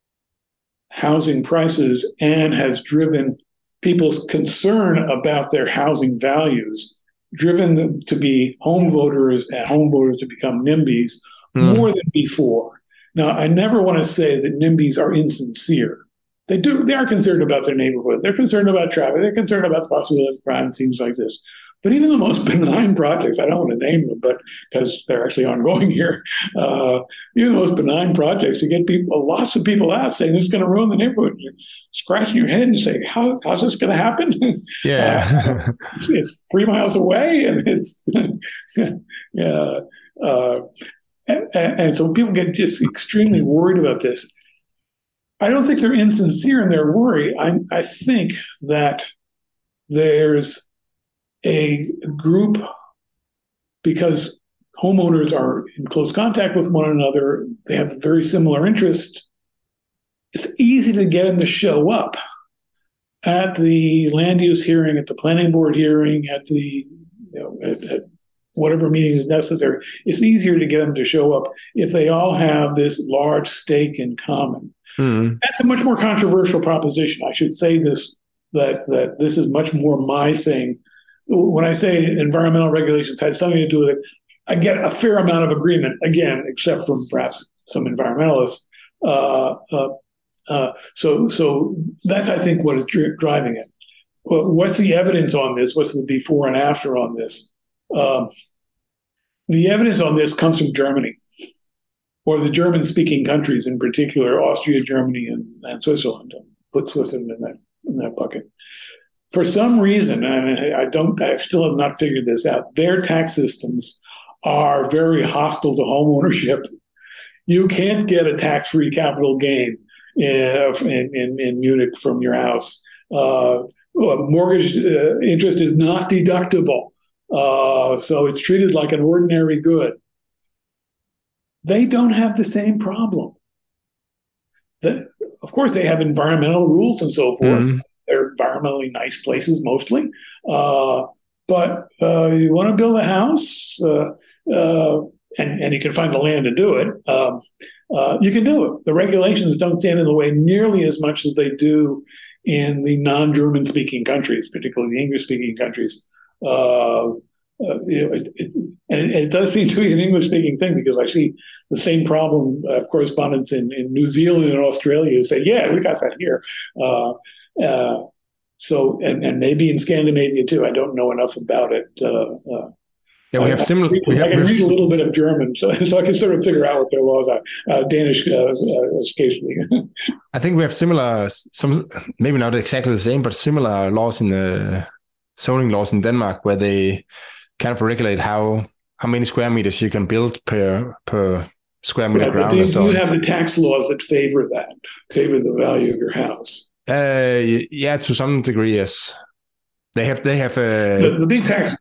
housing prices and has driven people's concern about their housing values, driven them to be home voters and home voters to become NIMBYs mm. more than before. Now, I never want to say that NIMBYs are insincere. They do. They are concerned about their neighborhood. They're concerned about traffic. They're concerned about the possibility of crime and things like this. But even the most benign projects, I don't want to name them, but because they're actually ongoing here, uh, even the most benign projects, you get people, lots of people out saying this is going to ruin the neighborhood. You're scratching your head and saying, How, how's this going to happen? Yeah, uh, it's three miles away, and it's yeah. Uh, and, and so people get just extremely worried about this. I don't think they're insincere in their worry. I, I think that there's a group, because homeowners are in close contact with one another, they have very similar interests. It's easy to get them to show up at the land use hearing, at the planning board hearing, at the you know, at, at whatever meeting is necessary. It's easier to get them to show up if they all have this large stake in common. Mm. That's a much more controversial proposition. I should say this, that, that this is much more my thing. When I say environmental regulations had something to do with it, I get a fair amount of agreement, again, except from perhaps some environmentalists. Uh, uh, uh, so, so that's, I think, what is dri- driving it. What's the evidence on this? What's the before and after on this? Um, the evidence on this comes from Germany, or the German-speaking countries in particular, Austria, Germany, and, and Switzerland. Put Switzerland in that in that bucket. For some reason, and I don't, I still have not figured this out, their tax systems are very hostile to home ownership. You can't get a tax-free capital gain in, in, in Munich from your house. Uh, mortgage uh, interest is not deductible. Uh, so it's treated like an ordinary good. They don't have the same problem. The, of course, they have environmental rules and so forth. Mm-hmm. They're environmentally nice places mostly. Uh, but uh, you want to build a house, uh, uh, and, and you can find the land to do it, um, uh, you can do it. The regulations don't stand in the way nearly as much as they do in the non-German speaking countries, particularly the English speaking countries. Uh, uh, you know, it, it, and it, it does seem to be an English speaking thing, because I see the same problem of correspondents in, in New Zealand and Australia who say, yeah, we got that here. Uh, uh, so, and, and maybe in Scandinavia too. I don't know enough about it. Uh, uh, yeah, we have I, similar. I, read, we have, I can read a little bit of German, so, so I can sort of figure out what their laws are. Uh, Danish, uh, uh, occasionally. I think we have similar, some maybe not exactly the same, but similar laws in the zoning laws in Denmark, where they kind of regulate how how many square meters you can build per per square meter right, ground. They, and so you on. have the tax laws that favor that, favor the value of your house. Uh, yeah, to some degree, yes. They have they have uh... the, the big tax.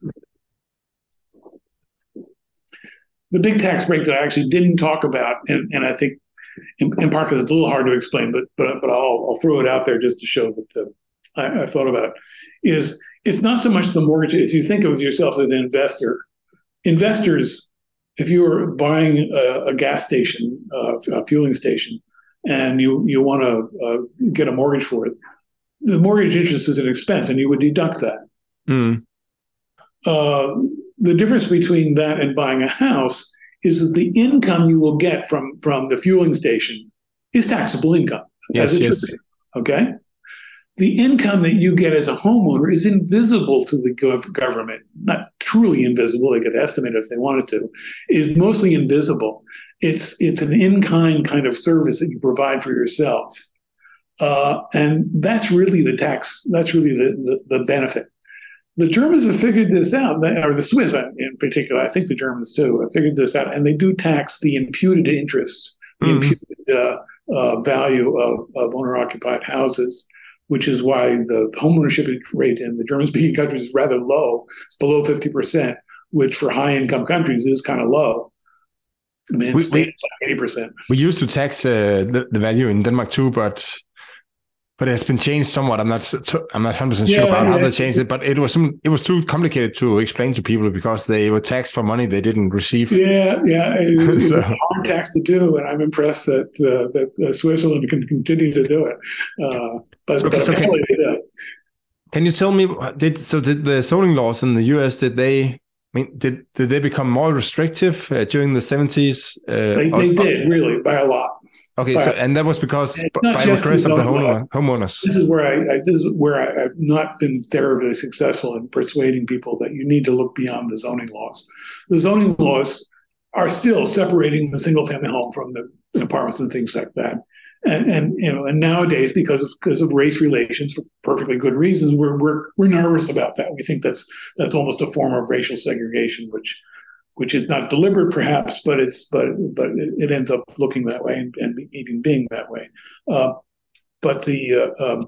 The big tax break that I actually didn't talk about, and, and I think in, in part because it's a little hard to explain, but but but I'll, I'll throw it out there just to show that uh, I, I thought about it, is it's not so much the mortgage. If you think of yourself as an investor, investors, if you were buying a, a gas station, uh, a fueling station, and you you want to uh, get a mortgage for it, the mortgage interest is an expense, and you would deduct that. Mm. Uh, the difference between that and buying a house is that the income you will get from, from the fueling station is taxable income. Yes, as it yes. should be. Okay? The income that you get as a homeowner is invisible to the gov- government, not truly invisible. They could estimate if they wanted to. Is mostly invisible. It's it's an in-kind kind of service that you provide for yourself, uh, and that's really the tax. That's really the, the, the benefit. The Germans have figured this out, or the Swiss in particular. I think the Germans too have figured this out, and they do tax the imputed interest, the mm-hmm. imputed uh, uh, value of, of owner-occupied houses, which is why the homeownership rate in the German-speaking countries is rather low. It's below fifty percent, which for high-income countries is kind of low. I mean, it's like eighty percent. We used to tax uh, the, the value in Denmark too, but but it's been changed somewhat. I'm not I'm not one hundred percent sure yeah, about yeah. how they changed it, but it was some it was too complicated to explain to people because they were taxed for money they didn't receive. Yeah, yeah, it was, so. it was a hard tax to do, and I'm impressed that uh, that uh, Switzerland can continue to do it. Uh, but okay, but so can, it can you tell me did so did the zoning laws in the U S did they? I mean, did did they become more restrictive uh, during the seventies? Uh, they they or, did, really, by a lot. Okay, by so a, and that was because by request of the homeowner, homeowners. This is where I, I this is where I, I've not been terribly successful in persuading people that you need to look beyond the zoning laws. The zoning laws are still separating the single-family home from the apartments and things like that. And, and you know, and nowadays, because of because of race relations, for perfectly good reasons, we're we're we're nervous about that. We think that's that's almost a form of racial segregation, which which is not deliberate, perhaps, but it's but but it, it ends up looking that way and, and even being that way. Uh, but the uh, um,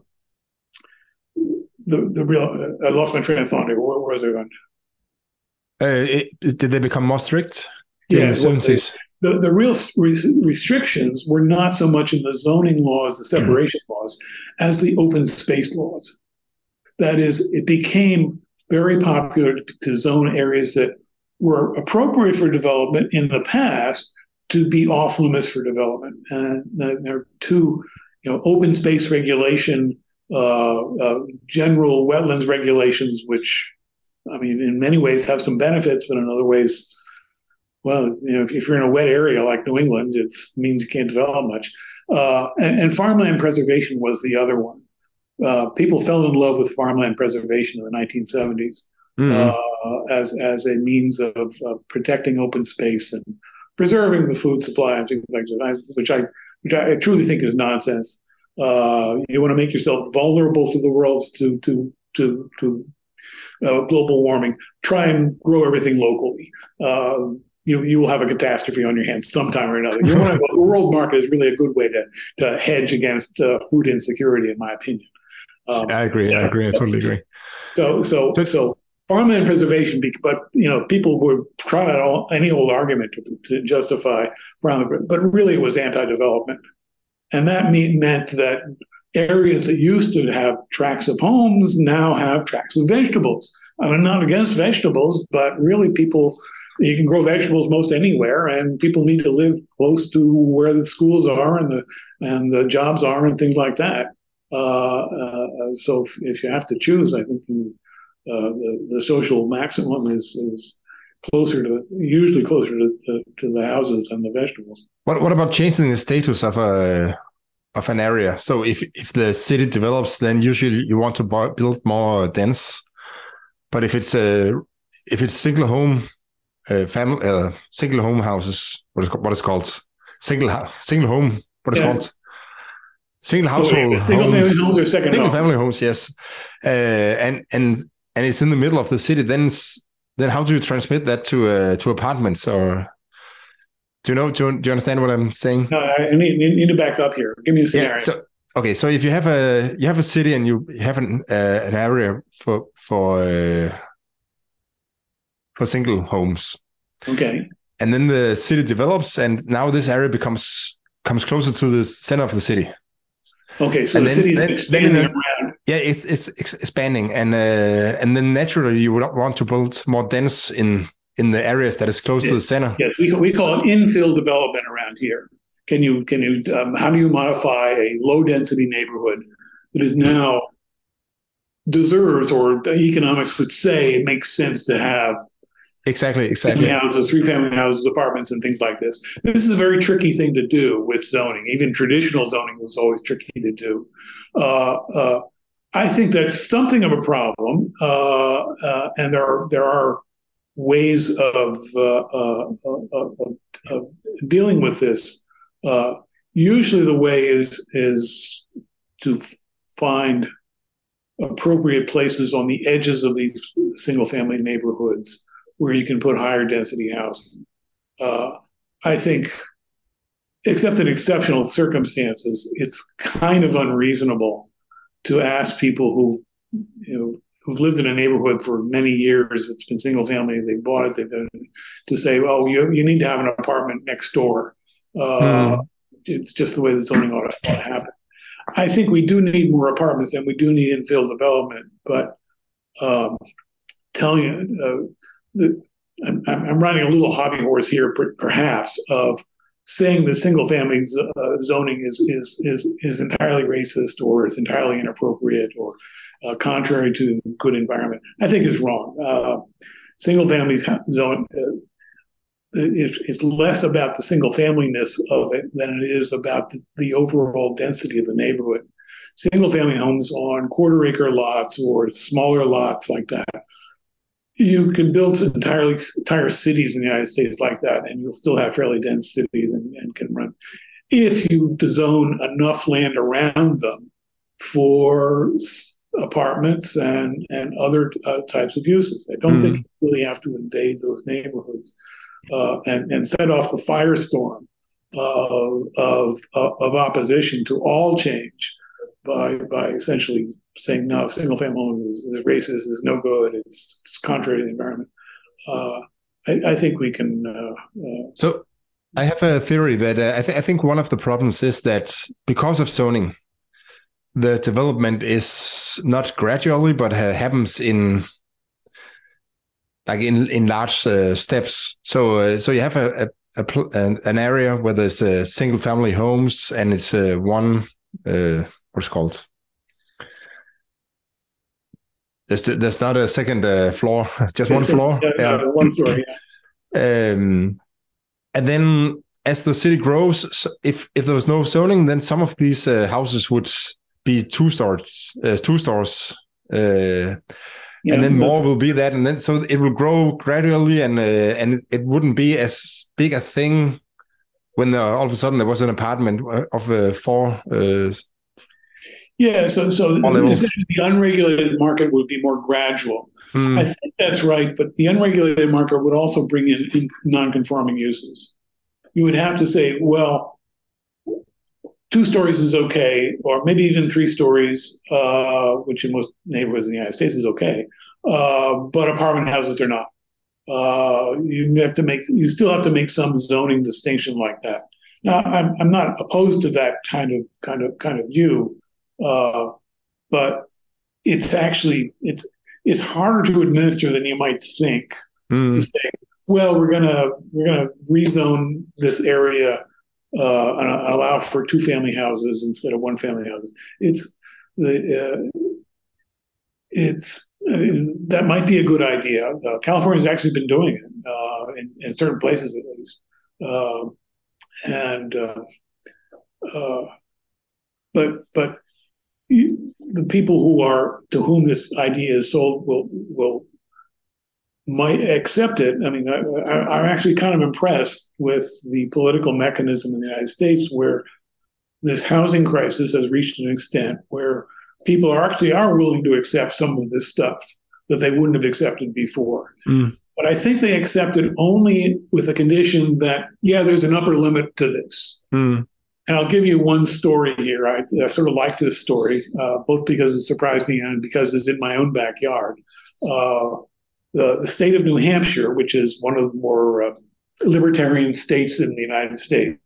the the real I lost my train of thought. Where, where was I going? Uh, it, did they become more strict during yeah, the seventies? Well, The, the real restrictions were not so much in the zoning laws, the separation mm. laws, as the open space laws. That is, it became very popular to zone areas that were appropriate for development in the past to be off limits for development. And there are two, you know, open space regulation, uh, uh, general wetlands regulations, which, I mean, in many ways have some benefits, but in other ways, well, you know, if, if you're in a wet area like New England, it means you can't develop much. Uh, and, and farmland preservation was the other one. Uh, people fell in love with farmland preservation in the nineteen seventies mm. uh, as as a means of, of protecting open space and preserving the food supply and things like that, which I which I truly think is nonsense. Uh, you want to make yourself vulnerable to the world to to to to uh, global warming. Try and grow everything locally. Uh, you you will have a catastrophe on your hands sometime or another. You want to, the world market is really a good way to to hedge against uh, food insecurity, in my opinion. Um, I agree. Yeah, I agree. I totally agree. So so so. Farmland preservation, but you know, people would try out all, any old argument to, to justify farmland, but really it was anti-development, and that mean, meant that areas that used to have tracts of homes now have tracts of vegetables. I'm not against vegetables, but really, people you can grow vegetables most anywhere, and people need to live close to where the schools are and the and the jobs are and things like that. Uh, uh, so if, if you have to choose, I think you. Uh, the, the social maximum is, is closer to, usually closer to, to, to the houses than the vegetables. What what about changing the status of a of an area? So if if the city develops, then usually you want to buy, build more dense. But if it's a if it's single home uh, family uh, single home houses, what is what is called single single home what is yeah. called single household oh, single homes, family homes or second single homes. family homes, yes, uh, and and. and it's in the middle of the city, then then how do you transmit that to uh, to apartments? Or do you know? Do you, do you understand what I'm saying? No, I need, need to back up here. Give me a scenario. Yeah, so okay, so if you have a you have a city and you have an uh, an area for for uh, for single homes, okay, and then the city develops, and now this area becomes comes closer to the center of the city. Okay, so and the then, city is then, expanding then around. Yeah, it's it's expanding, and uh, and then naturally you would want to build more dense in in the areas that is close yes. to the center. Yes, we we call it infill development around here. Can you can you um, how do you modify a low density neighborhood that is now deserves, or economics would say it makes sense to have exactly exactly family houses, three family houses, apartments, and things like this. This is a very tricky thing to do with zoning. Even traditional zoning was always tricky to do. Uh, uh, I think that's something of a problem, uh, uh, and there are there are ways of, uh, uh, of, of dealing with this. Uh, usually, the way is is to find appropriate places on the edges of these single-family neighborhoods where you can put higher density housing. Uh, I think, except in exceptional circumstances, it's kind of unreasonable to ask people who, you know, who've lived in a neighborhood for many years, it's been single family, they bought it, they've been, to say, well, you you need to have an apartment next door. Uh, mm. It's just the way the zoning ought to, ought to happen. I think we do need more apartments and we do need infill development, but um, telling you, uh, that I'm, I'm riding a little hobby horse here, perhaps, of saying that single family uh, zoning is, is is is entirely racist or is entirely inappropriate or uh, contrary to good environment, I think is wrong. Uh, single family zone uh, is, is less about the single familyness of it than it is about the, the overall density of the neighborhood. Single family homes on quarter acre lots or smaller lots like that, you can build entirely entire cities in the United States like that, and you'll still have fairly dense cities and, and can run. If you zone enough land around them for apartments and and other uh, types of uses, I don't mm-hmm. think you really have to invade those neighborhoods uh, and and set off the firestorm uh, of of opposition to all change by by essentially saying no, single family homes is, is racist, is no good, it's, it's contrary to the environment. Uh, I, I think we can. Uh, uh, so, I have a theory that uh, I, th- I think one of the problems is that because of zoning, the development is not gradually, but uh, happens in like in in large uh, steps. So uh, so you have a, a, a pl- an, an area where there's uh, single family homes, and it's uh, one uh, what's it called. There's there's not a second uh, floor, just one It's a- floor. uh, Yeah. one story. Yeah. Um, and then as the city grows, so if if there was no zoning, then some of these uh, houses would be two stores, uh, two stores, uh, Yeah, and then but- more will be that, and then so it will grow gradually, and uh, and it wouldn't be as big a thing when uh, all of a sudden there was an apartment of uh, four. Uh, Yeah, so so levels. essentially the unregulated market would be more gradual. mm, I think that's right, but the unregulated market would also bring in, in non-conforming uses. You would have to say, well, two stories is okay, or maybe even three stories, uh, which in most neighborhoods in the United States is okay, uh, but apartment houses are not. Uh, you have to make, you still have to make some zoning distinction like that. Now, I'm I'm not opposed to that kind of kind of kind of view, uh, but it's actually it's it's harder to administer than you might think. mm, To say, well, we're gonna we're gonna rezone this area uh, and allow for two family houses instead of one family houses. It's the uh, it's uh, that might be a good idea. Uh, California's actually been doing it uh, in, in certain places at least, uh, and uh, uh, but but you, the people who are to whom this idea is sold will will might accept it. I mean, I, I, I'm actually kind of impressed with the political mechanism in the United States where this housing crisis has reached an extent where people are actually are willing to accept some of this stuff that they wouldn't have accepted before. mm, But I think they accept it only with a condition that, yeah, there's an upper limit to this. mm, And I'll give you one story here. I, I sort of like this story, uh, both because it surprised me and because it's in my own backyard. Uh, the, the state of New Hampshire, which is one of the more uh, libertarian states in the United States,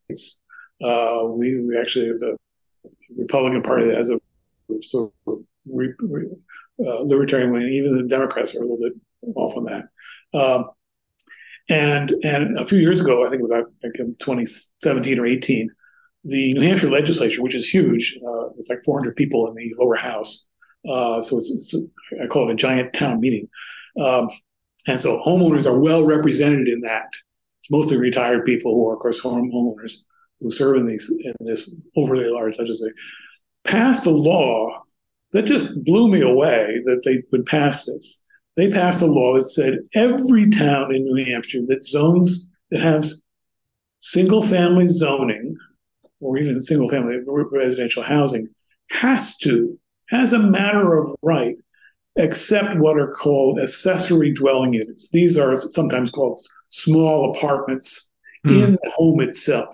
uh, we, we actually have the Republican Party that has a sort of re, re, uh, libertarian wing. Even the Democrats are a little bit off on that. Um, and and a few years ago, I think it was like in twenty seventeen or eighteen, the New Hampshire legislature, which is huge, uh, it's like four hundred people in the lower house. Uh, so it's, it's, I call it a giant town meeting. Um, and so homeowners are well represented in that. It's mostly retired people who are, of course, home homeowners who serve in these in this overly large legislature. Passed a law that just blew me away that they would pass this. They passed a law that said every town in New Hampshire that zones that has single family zoning or even single family residential housing has to, as a matter of right, accept what are called accessory dwelling units. These are sometimes called small apartments mm. in the home itself.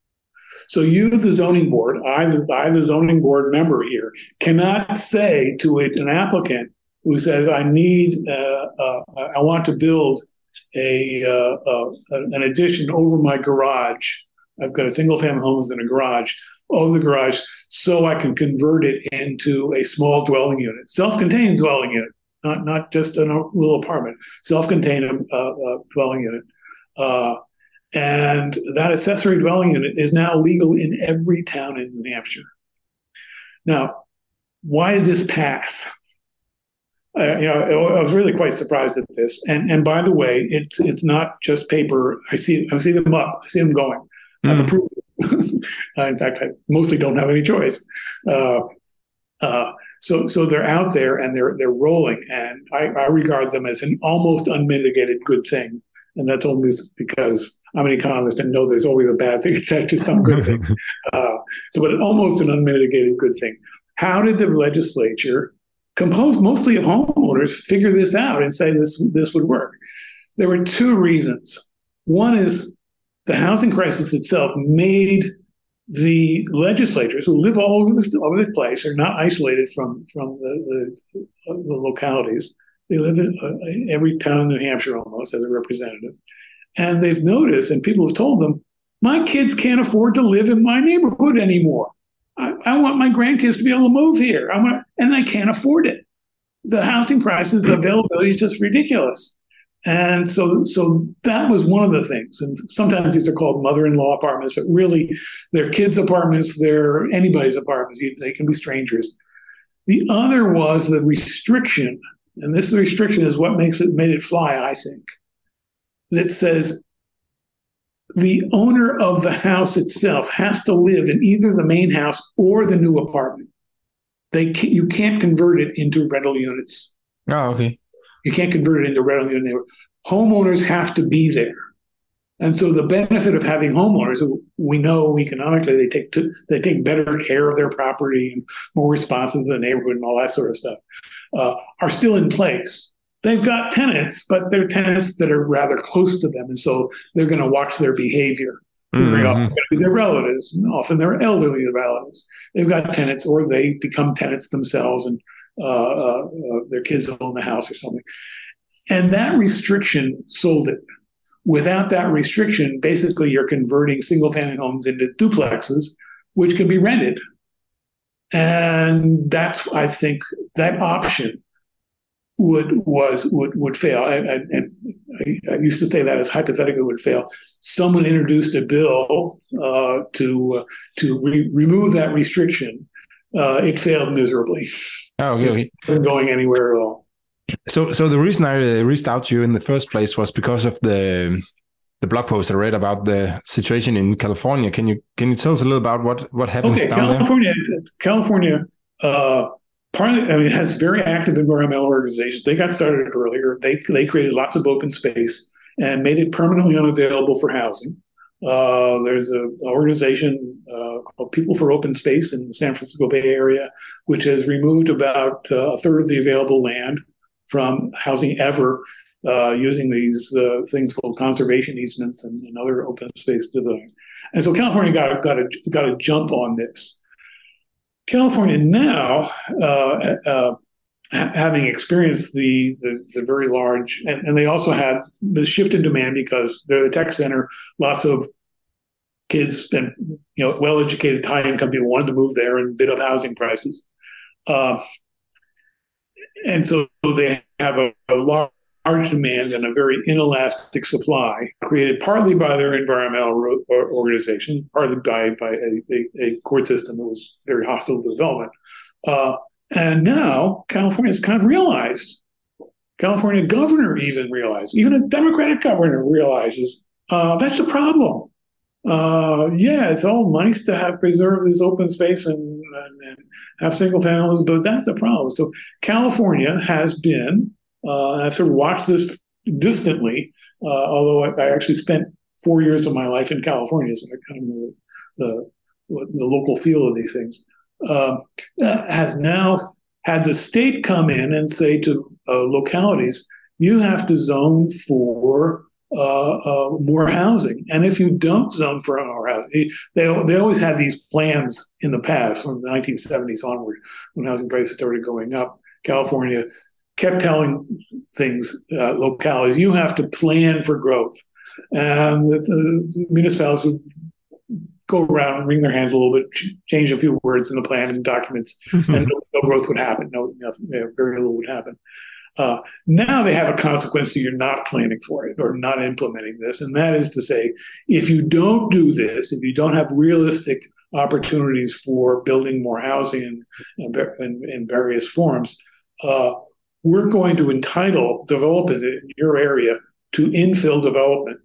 So you, the zoning board, I, I, the zoning board member here, cannot say to it, an applicant who says, I need, uh, uh, I want to build a uh, uh, an addition over my garage. I've got a single family home in a garage, over the garage, so I can convert it into a small dwelling unit, self-contained dwelling unit, not not just a little apartment, self-contained uh, uh, dwelling unit. Uh, and that accessory dwelling unit is now legal in every town in New Hampshire. Now, why did this pass? Uh, you know, I was really quite surprised at this. And and by the way, it's it's not just paper. I see I see them up. I see them going. Mm. I've approved them. In fact, I mostly don't have any choice. Uh, uh, so so they're out there and they're they're rolling. And I, I regard them as an almost unmitigated good thing. And that's only because I'm an economist and know there's always a bad thing attached to some good thing. Uh, so, but almost an unmitigated good thing. How did the legislature, composed mostly of homeowners, figure this out and say this this would work? There were two reasons. One is the housing crisis itself made the legislatures who live all over the, all over the place, are not isolated from, from the, the, the localities. They live in uh, every town in New Hampshire almost as a representative. And they've noticed, and people have told them, my kids can't afford to live in my neighborhood anymore. I, I want my grandkids to be able to move here. I want, and they can't afford it. The housing prices, the availability is just ridiculous. And so, so that was one of the things. And sometimes these are called mother-in-law apartments, but really they're kids' apartments. They're anybody's apartments. They can be strangers. The other was the restriction, and this restriction is what makes it made it fly, I think. That says the owner of the house itself has to live in either the main house or the new apartment. They can't, you can't convert it into rental units. Oh, okay. You can't convert it into rental unit. Homeowners have to be there. And so the benefit of having homeowners, who we know economically they take to, they take better care of their property and more responsive to the neighborhood and all that sort of stuff, uh, are still in place. They've got tenants, but they're tenants that are rather close to them. And so they're going to watch their behavior. Mm-hmm. They're their relatives, and often they're elderly relatives. They've got tenants, or they become tenants themselves, and uh, uh, uh, their kids own the house or something. And that restriction sold it. Without that restriction, basically you're converting single-family homes into duplexes, which can be rented. And that's, I think, that option would was would would fail. I, I, and I, I used to say that as hypothetically would fail. Someone introduced a bill uh, to uh, to re- remove that restriction. Uh, it failed miserably. Oh, okay, okay. It wasn't going anywhere at all. So, so the reason I reached out to you in the first place was because of the the blog post I read about the situation in California. Can you can you tell us a little about what what happens okay, down California, there? California. Uh, Partly, I mean, it has very active environmental organizations. They got started earlier. They they created lots of open space and made it permanently unavailable for housing. Uh, there's an organization uh, called People for Open Space in the San Francisco Bay Area, which has removed about uh, a third of the available land from housing ever, uh, using these uh, things called conservation easements and, and other open space designs. And so California got got a got a jump on this. California now, uh, uh, having experienced the, the the very large, and, and they also had the shift in demand because they're the tech center. Lots of kids and you know well-educated, high-income people wanted to move there and bid up housing prices, uh, and so they have a, a large. large demand and a very inelastic supply, created partly by their environmental organization, partly by, by a, a, a court system that was very hostile to development. Uh, and now California has kind of realized, California governor even realized, even a Democratic governor realizes uh, that's the problem. Uh, yeah, it's all nice to have preserve this open space and, and, and have single families, but that's the problem. So California has been Uh, I sort of watched this distantly, uh, although I, I actually spent four years of my life in California, so I kind of know the, the, the local feel of these things. Uh, has now had the state come in and say to uh, localities, you have to zone for uh, uh, more housing. And if you don't zone for more housing, they, they always had these plans in the past, from the nineteen seventies onward, when housing prices started going up. California kept telling things, uh, localities, you have to plan for growth. And the, the municipalities would go around and wring their hands a little bit, ch- change a few words in the plan and documents, mm-hmm. and no, no growth would happen. No, nothing, very little would happen. Uh, now they have a consequence that you're not planning for it or not implementing this. And that is to say, if you don't do this, if you don't have realistic opportunities for building more housing in, in, in various forms, uh, we're going to entitle developers in your area to infill development.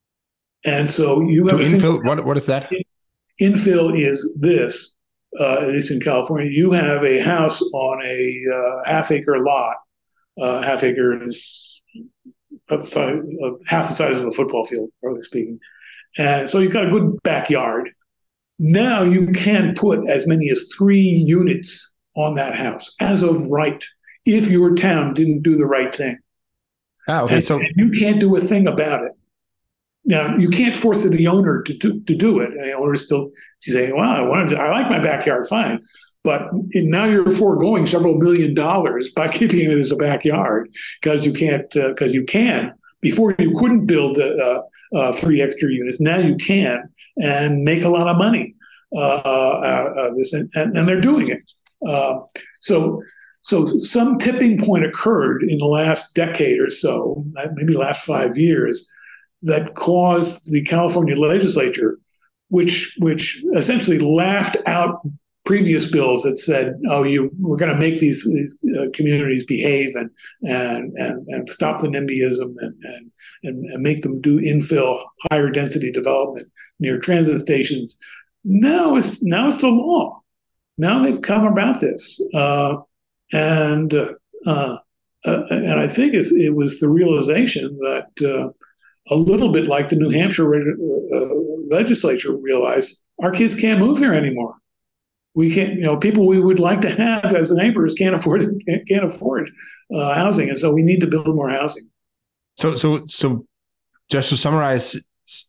And so you have to a infill. What what is that? Infill is this. Uh, it's in California. You have a house on a uh, half acre lot. Uh, half acre is about the size, uh, half the size of a football field, roughly speaking. And so you've got a good backyard. Now you can put as many as three units on that house as of right, if your town didn't do the right thing. Ah, okay. And, so and you can't do a thing about it. Now, you can't force the owner to do, to do it. The owner is still saying, well, I wanted to, I like my backyard, fine. But now you're foregoing several million dollars by keeping it as a backyard because you can't, because uh, you can. Before you couldn't build uh, uh, three extra units. Now you can and make a lot of money. Uh, uh, uh, this and, and they're doing it. Uh, so so some tipping point occurred in the last decade or so, maybe the last five years, that caused the California legislature, which which essentially laughed out previous bills that said, "Oh, you we're going to make these, these uh, communities behave and and and and stop the NIMBYism and, and and and make them do infill, higher density development near transit stations." Now it's now it's the law. Now they've come about this, uh, and uh, uh, and I think it's, it was the realization that. Uh, A little bit like the New Hampshire uh, legislature realized, our kids can't move here anymore. We can't, you know, people we would like to have as neighbors can't afford can't, can't afford uh, housing, and so we need to build more housing. So, so, so, just to summarize,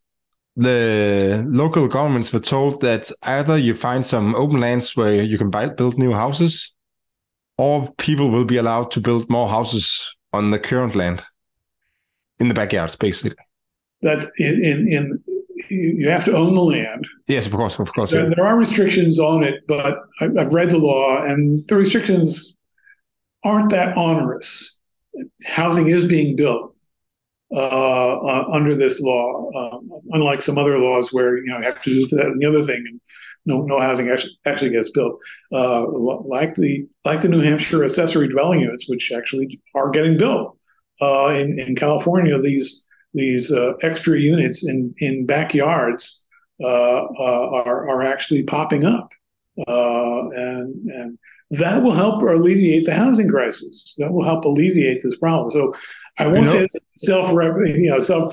the local governments were told that either you find some open lands where you can buy, build new houses, or people will be allowed to build more houses on the current land in the backyards, basically. That in, in in you have to own the land. Yes, of course, of course. There, Yeah. there are restrictions on it, but I've read the law, and the restrictions aren't that onerous. Housing is being built uh, uh, under this law, um, unlike some other laws where you know you have to do that and the other thing, and no no housing actually, actually gets built. Uh, like the like the New Hampshire accessory dwelling units, which actually are getting built uh, in in California. These These uh, extra units in, in backyards uh, uh, are are actually popping up, uh, and and that will help alleviate the housing crisis. That will help alleviate this problem. So I won't you know, say it's a self you know self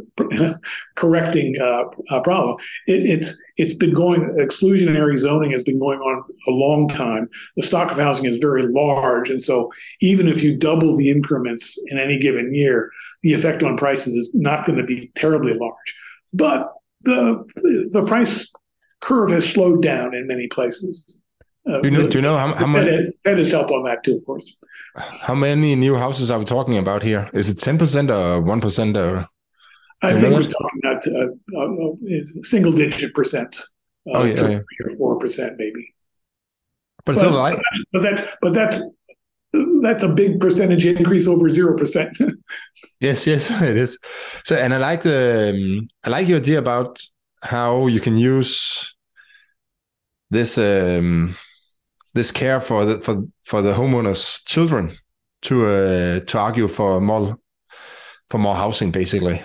correcting uh, uh, problem. It, it's it's been going exclusionary zoning has been going on a long time. The stock of housing is very large, and so even if you double the increments in any given year, the effect on prices is not going to be terribly large. But the the price curve has slowed down in many places. Uh, do you know, do you know how, how much? Fed has helped on that too, of course. How many new houses are we talking about here? Is it ten percent or one percent? Or I think we're talking about uh, uh, single digit percent. Uh, oh, yeah, two, yeah. three or four percent maybe. But, but still, like, but that, but that's that's a big percentage increase over zero percent. Yes, yes, it is. So, and I like the um, I like your idea about how you can use this um, this care for the for for the homeowners' children to uh, to argue for more for more housing, basically,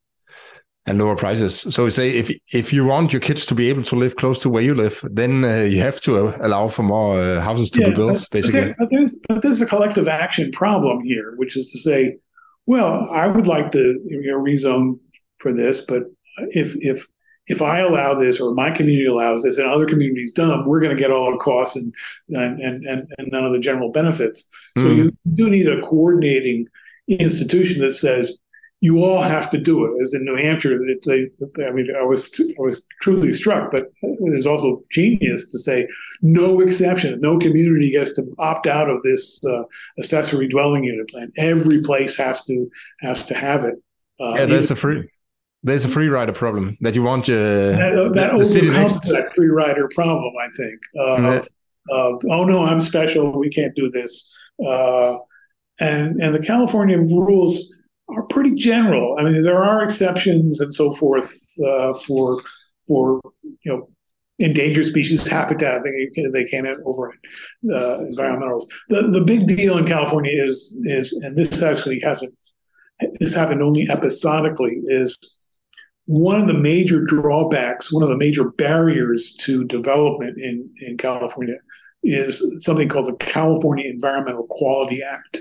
and lower prices. So we say if if you want your kids to be able to live close to where you live, then uh, you have to allow for more uh, houses to yeah, be built, but, basically. But, there, but there's but there's a collective action problem here, which is to say, well, I would like to you know, rezone for this, but if if if I allow this or my community allows this and other communities don't, we're going to get all the costs and and and, and none of the general benefits. Mm. So you do need a coordinating institution that says you all have to do it. As in New Hampshire, they, I mean, I was I was truly struck, but it is also genius to say no exceptions, no community gets to opt out of this uh, accessory dwelling unit plan. Every place has to has to have it. Uh, yeah, there's a free there's a free rider problem that you want your that, uh, that the, the city overcomes next that free rider problem. I think. Uh, yeah. of, of, oh no, I'm special. We can't do this. Uh, and and the California rules are pretty general. I mean, there are exceptions and so forth uh, for for you know endangered species habitat. They they came in over uh, environmentals. The the big deal in California is is and this actually hasn't this happened only episodically is one of the major drawbacks, one of the major barriers to development in in California is something called the California Environmental Quality Act.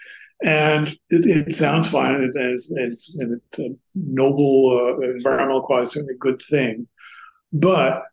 And it, it sounds fine, and it's, it's, it's a noble uh, environmental quality, certainly a good thing. But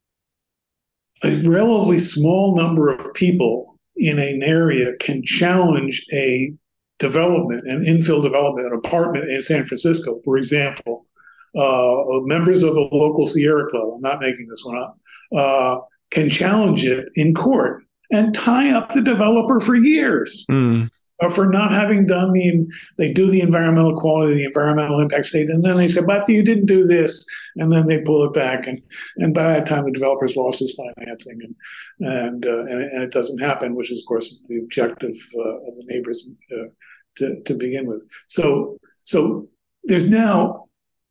a relatively small number of people in an area can challenge a development, an infill development, an apartment in San Francisco, for example. Uh, members of the local Sierra Club, I'm not making this one up, uh, can challenge it in court and tie up the developer for years. Mm. for not having done the, they do the environmental quality, the environmental impact statement, and then they say, but you didn't do this, and then they pull it back, and and by that time the developer's lost his financing, and and uh, and, and it doesn't happen, which is of course the objective uh, of the neighbors uh, to to begin with. So so there's now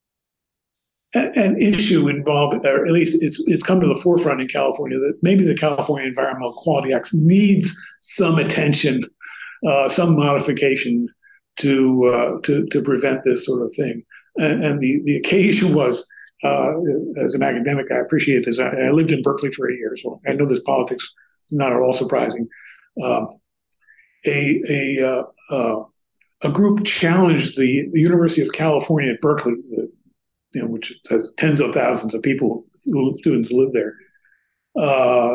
an issue involved, or at least it's it's come to the forefront in California, that maybe the California Environmental Quality Act needs some attention, uh, some modification to uh, to to prevent this sort of thing. And, and the the occasion was, uh, as an academic, I appreciate this. I, I lived in Berkeley for eight years, so I know this politics is not at all surprising. Um, a a uh, uh, a group challenged the, the University of California at Berkeley, you know, which has tens of thousands of people, students who live there, uh,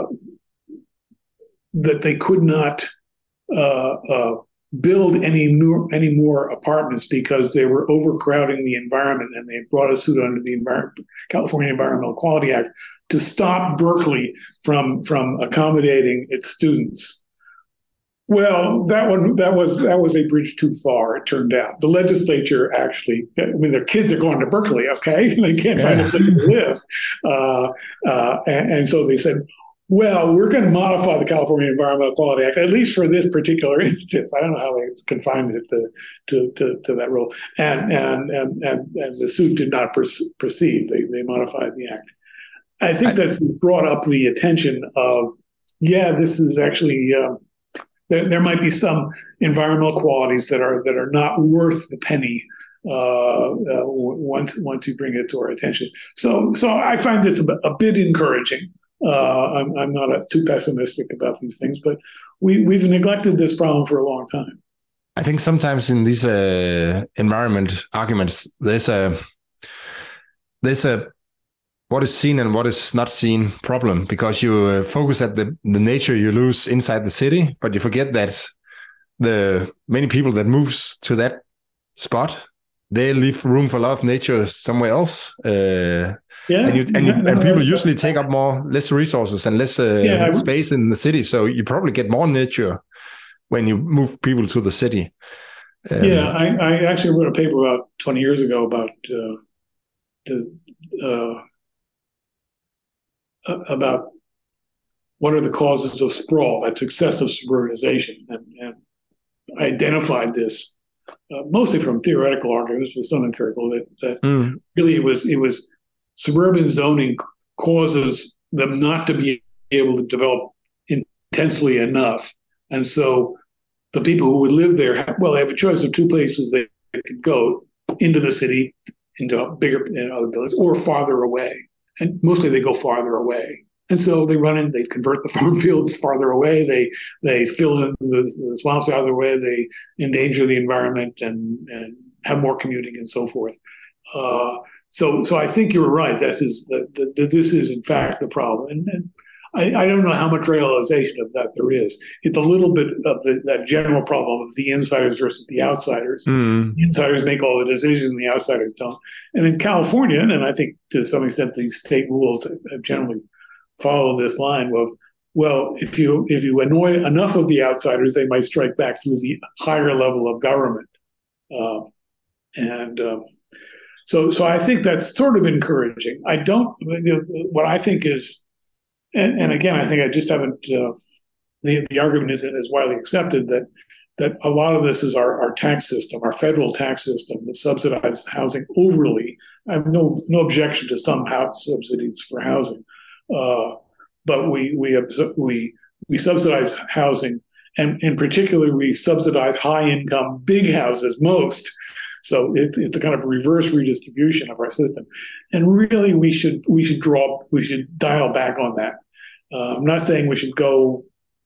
that they could not uh, uh, build any new, any more apartments because they were overcrowding the environment, and they brought a suit under the Envir- California Environmental Quality Act to stop Berkeley from from accommodating its students. Well, that one that was that was a bridge too far. It turned out the legislature actually, I mean, their kids are going to Berkeley, okay, they can't find a place to live, uh, uh, and, and so they said, well, we're going to modify the California Environmental Quality Act, at least for this particular instance. I don't know how they confined it to to, to, to that rule, and and and and and the suit did not proceed. They they modified the act. I think that's brought up the attention of, yeah, this is actually. Um, There, there might be some environmental qualities that are that are not worth the penny uh, uh, once once you bring it to our attention. So so I find this a, a bit encouraging. Uh, I'm I'm not a, too pessimistic about these things, but we we've neglected this problem for a long time. I think sometimes in these uh, environment arguments, there's a there's a what is seen and what is not seen problem, because you uh, focus at the, the nature you lose inside the city, but you forget that the many people that moves to that spot, they leave room for a lot of nature somewhere else. Uh, yeah, and, you, and, you, yeah, and people usually take up more less resources and less uh, yeah, space in the city, so you probably get more nature when you move people to the city. Um, yeah, I, I actually wrote a paper about twenty years ago about uh, the. Uh, about what are the causes of sprawl, that's excessive suburbanization, and, and I identified this uh, mostly from theoretical arguments, but some empirical, that, that mm. really it was it was suburban zoning causes them not to be able to develop intensely enough, and so the people who would live there, well, they have a choice of two places they could go: into the city, into bigger and other buildings, or farther away. And mostly they go farther away. And so they run in, they convert the farm fields farther away, they they fill in the, the swamps out of their way, they endanger the environment and, and have more commuting and so forth. Uh, so so I think you're right. That is that, that this is in fact the problem. And, and I, I don't know how much realization of that there is. It's a little bit of the, that general problem of the insiders versus the outsiders. Mm. The insiders make all the decisions and the outsiders don't. And in California, and I think to some extent the state rules have generally followed this line of, well, if you if you annoy enough of the outsiders, they might strike back through the higher level of government. Uh, and um, so so I think that's sort of encouraging. I don't, you know, what I think is, And, and again, I think I just haven't. Uh, the the argument isn't as widely accepted that that a lot of this is our, our tax system, our federal tax system that subsidizes housing overly. I have no no objection to some house subsidies for housing, uh, but we we we we subsidize housing, and in particular we subsidize high income big houses most. So it, it's a kind of reverse redistribution of our system, and really we should we should draw we should dial back on that. Uh, I'm not saying we should go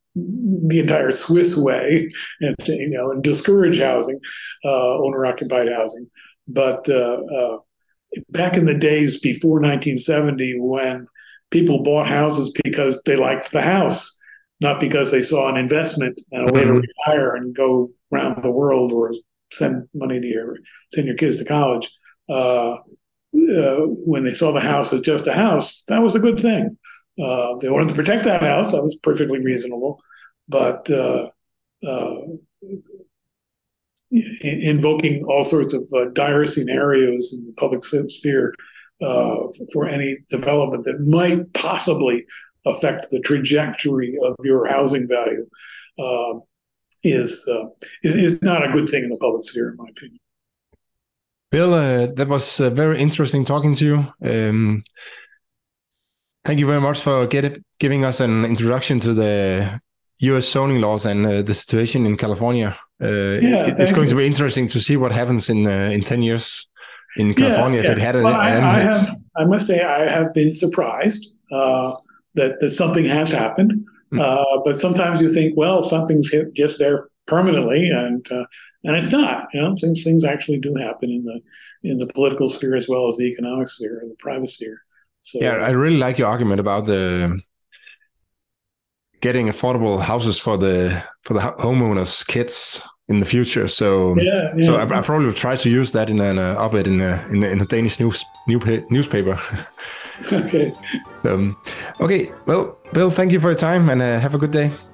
the entire Swiss way and you know and discourage housing, uh, owner occupied housing, but uh, uh, back in the days before nineteen seventy, when people bought houses because they liked the house, not because they saw an investment and a way mm-hmm. to retire and go around the world or send money to your send your kids to college. Uh, uh, when they saw the house as just a house, that was a good thing. Uh, they wanted to protect that house. That was perfectly reasonable. But uh, uh, invoking all sorts of uh, dire scenarios in the public sphere uh, for any development that might possibly affect the trajectory of your housing value uh, is, uh, is not a good thing in the public sphere, in my opinion. Bill, uh, that was uh, very interesting talking to you. Um, thank you very much for get it, giving us an introduction to the U S zoning laws and uh, the situation in California. Uh, yeah, it, it's going you. to be interesting to see what happens in uh, in ten years in California. Yeah, if yeah. it had an, well, an I, I, have, I must say I have been surprised uh, that, that something has happened. Mm. Uh, but sometimes you think, well, something's just there permanently, and uh, and it's not. You know, things things actually do happen in the in the political sphere as well as the economic sphere and the private sphere. So yeah, I really like your argument about the getting affordable houses for the for the homeowners' kids in the future. So yeah, yeah. so I, I probably will try to use that in an uh, op-ed in a in a, in a Danish news new newspaper. Okay. So okay, well, Bill, thank you for your time and uh, have a good day.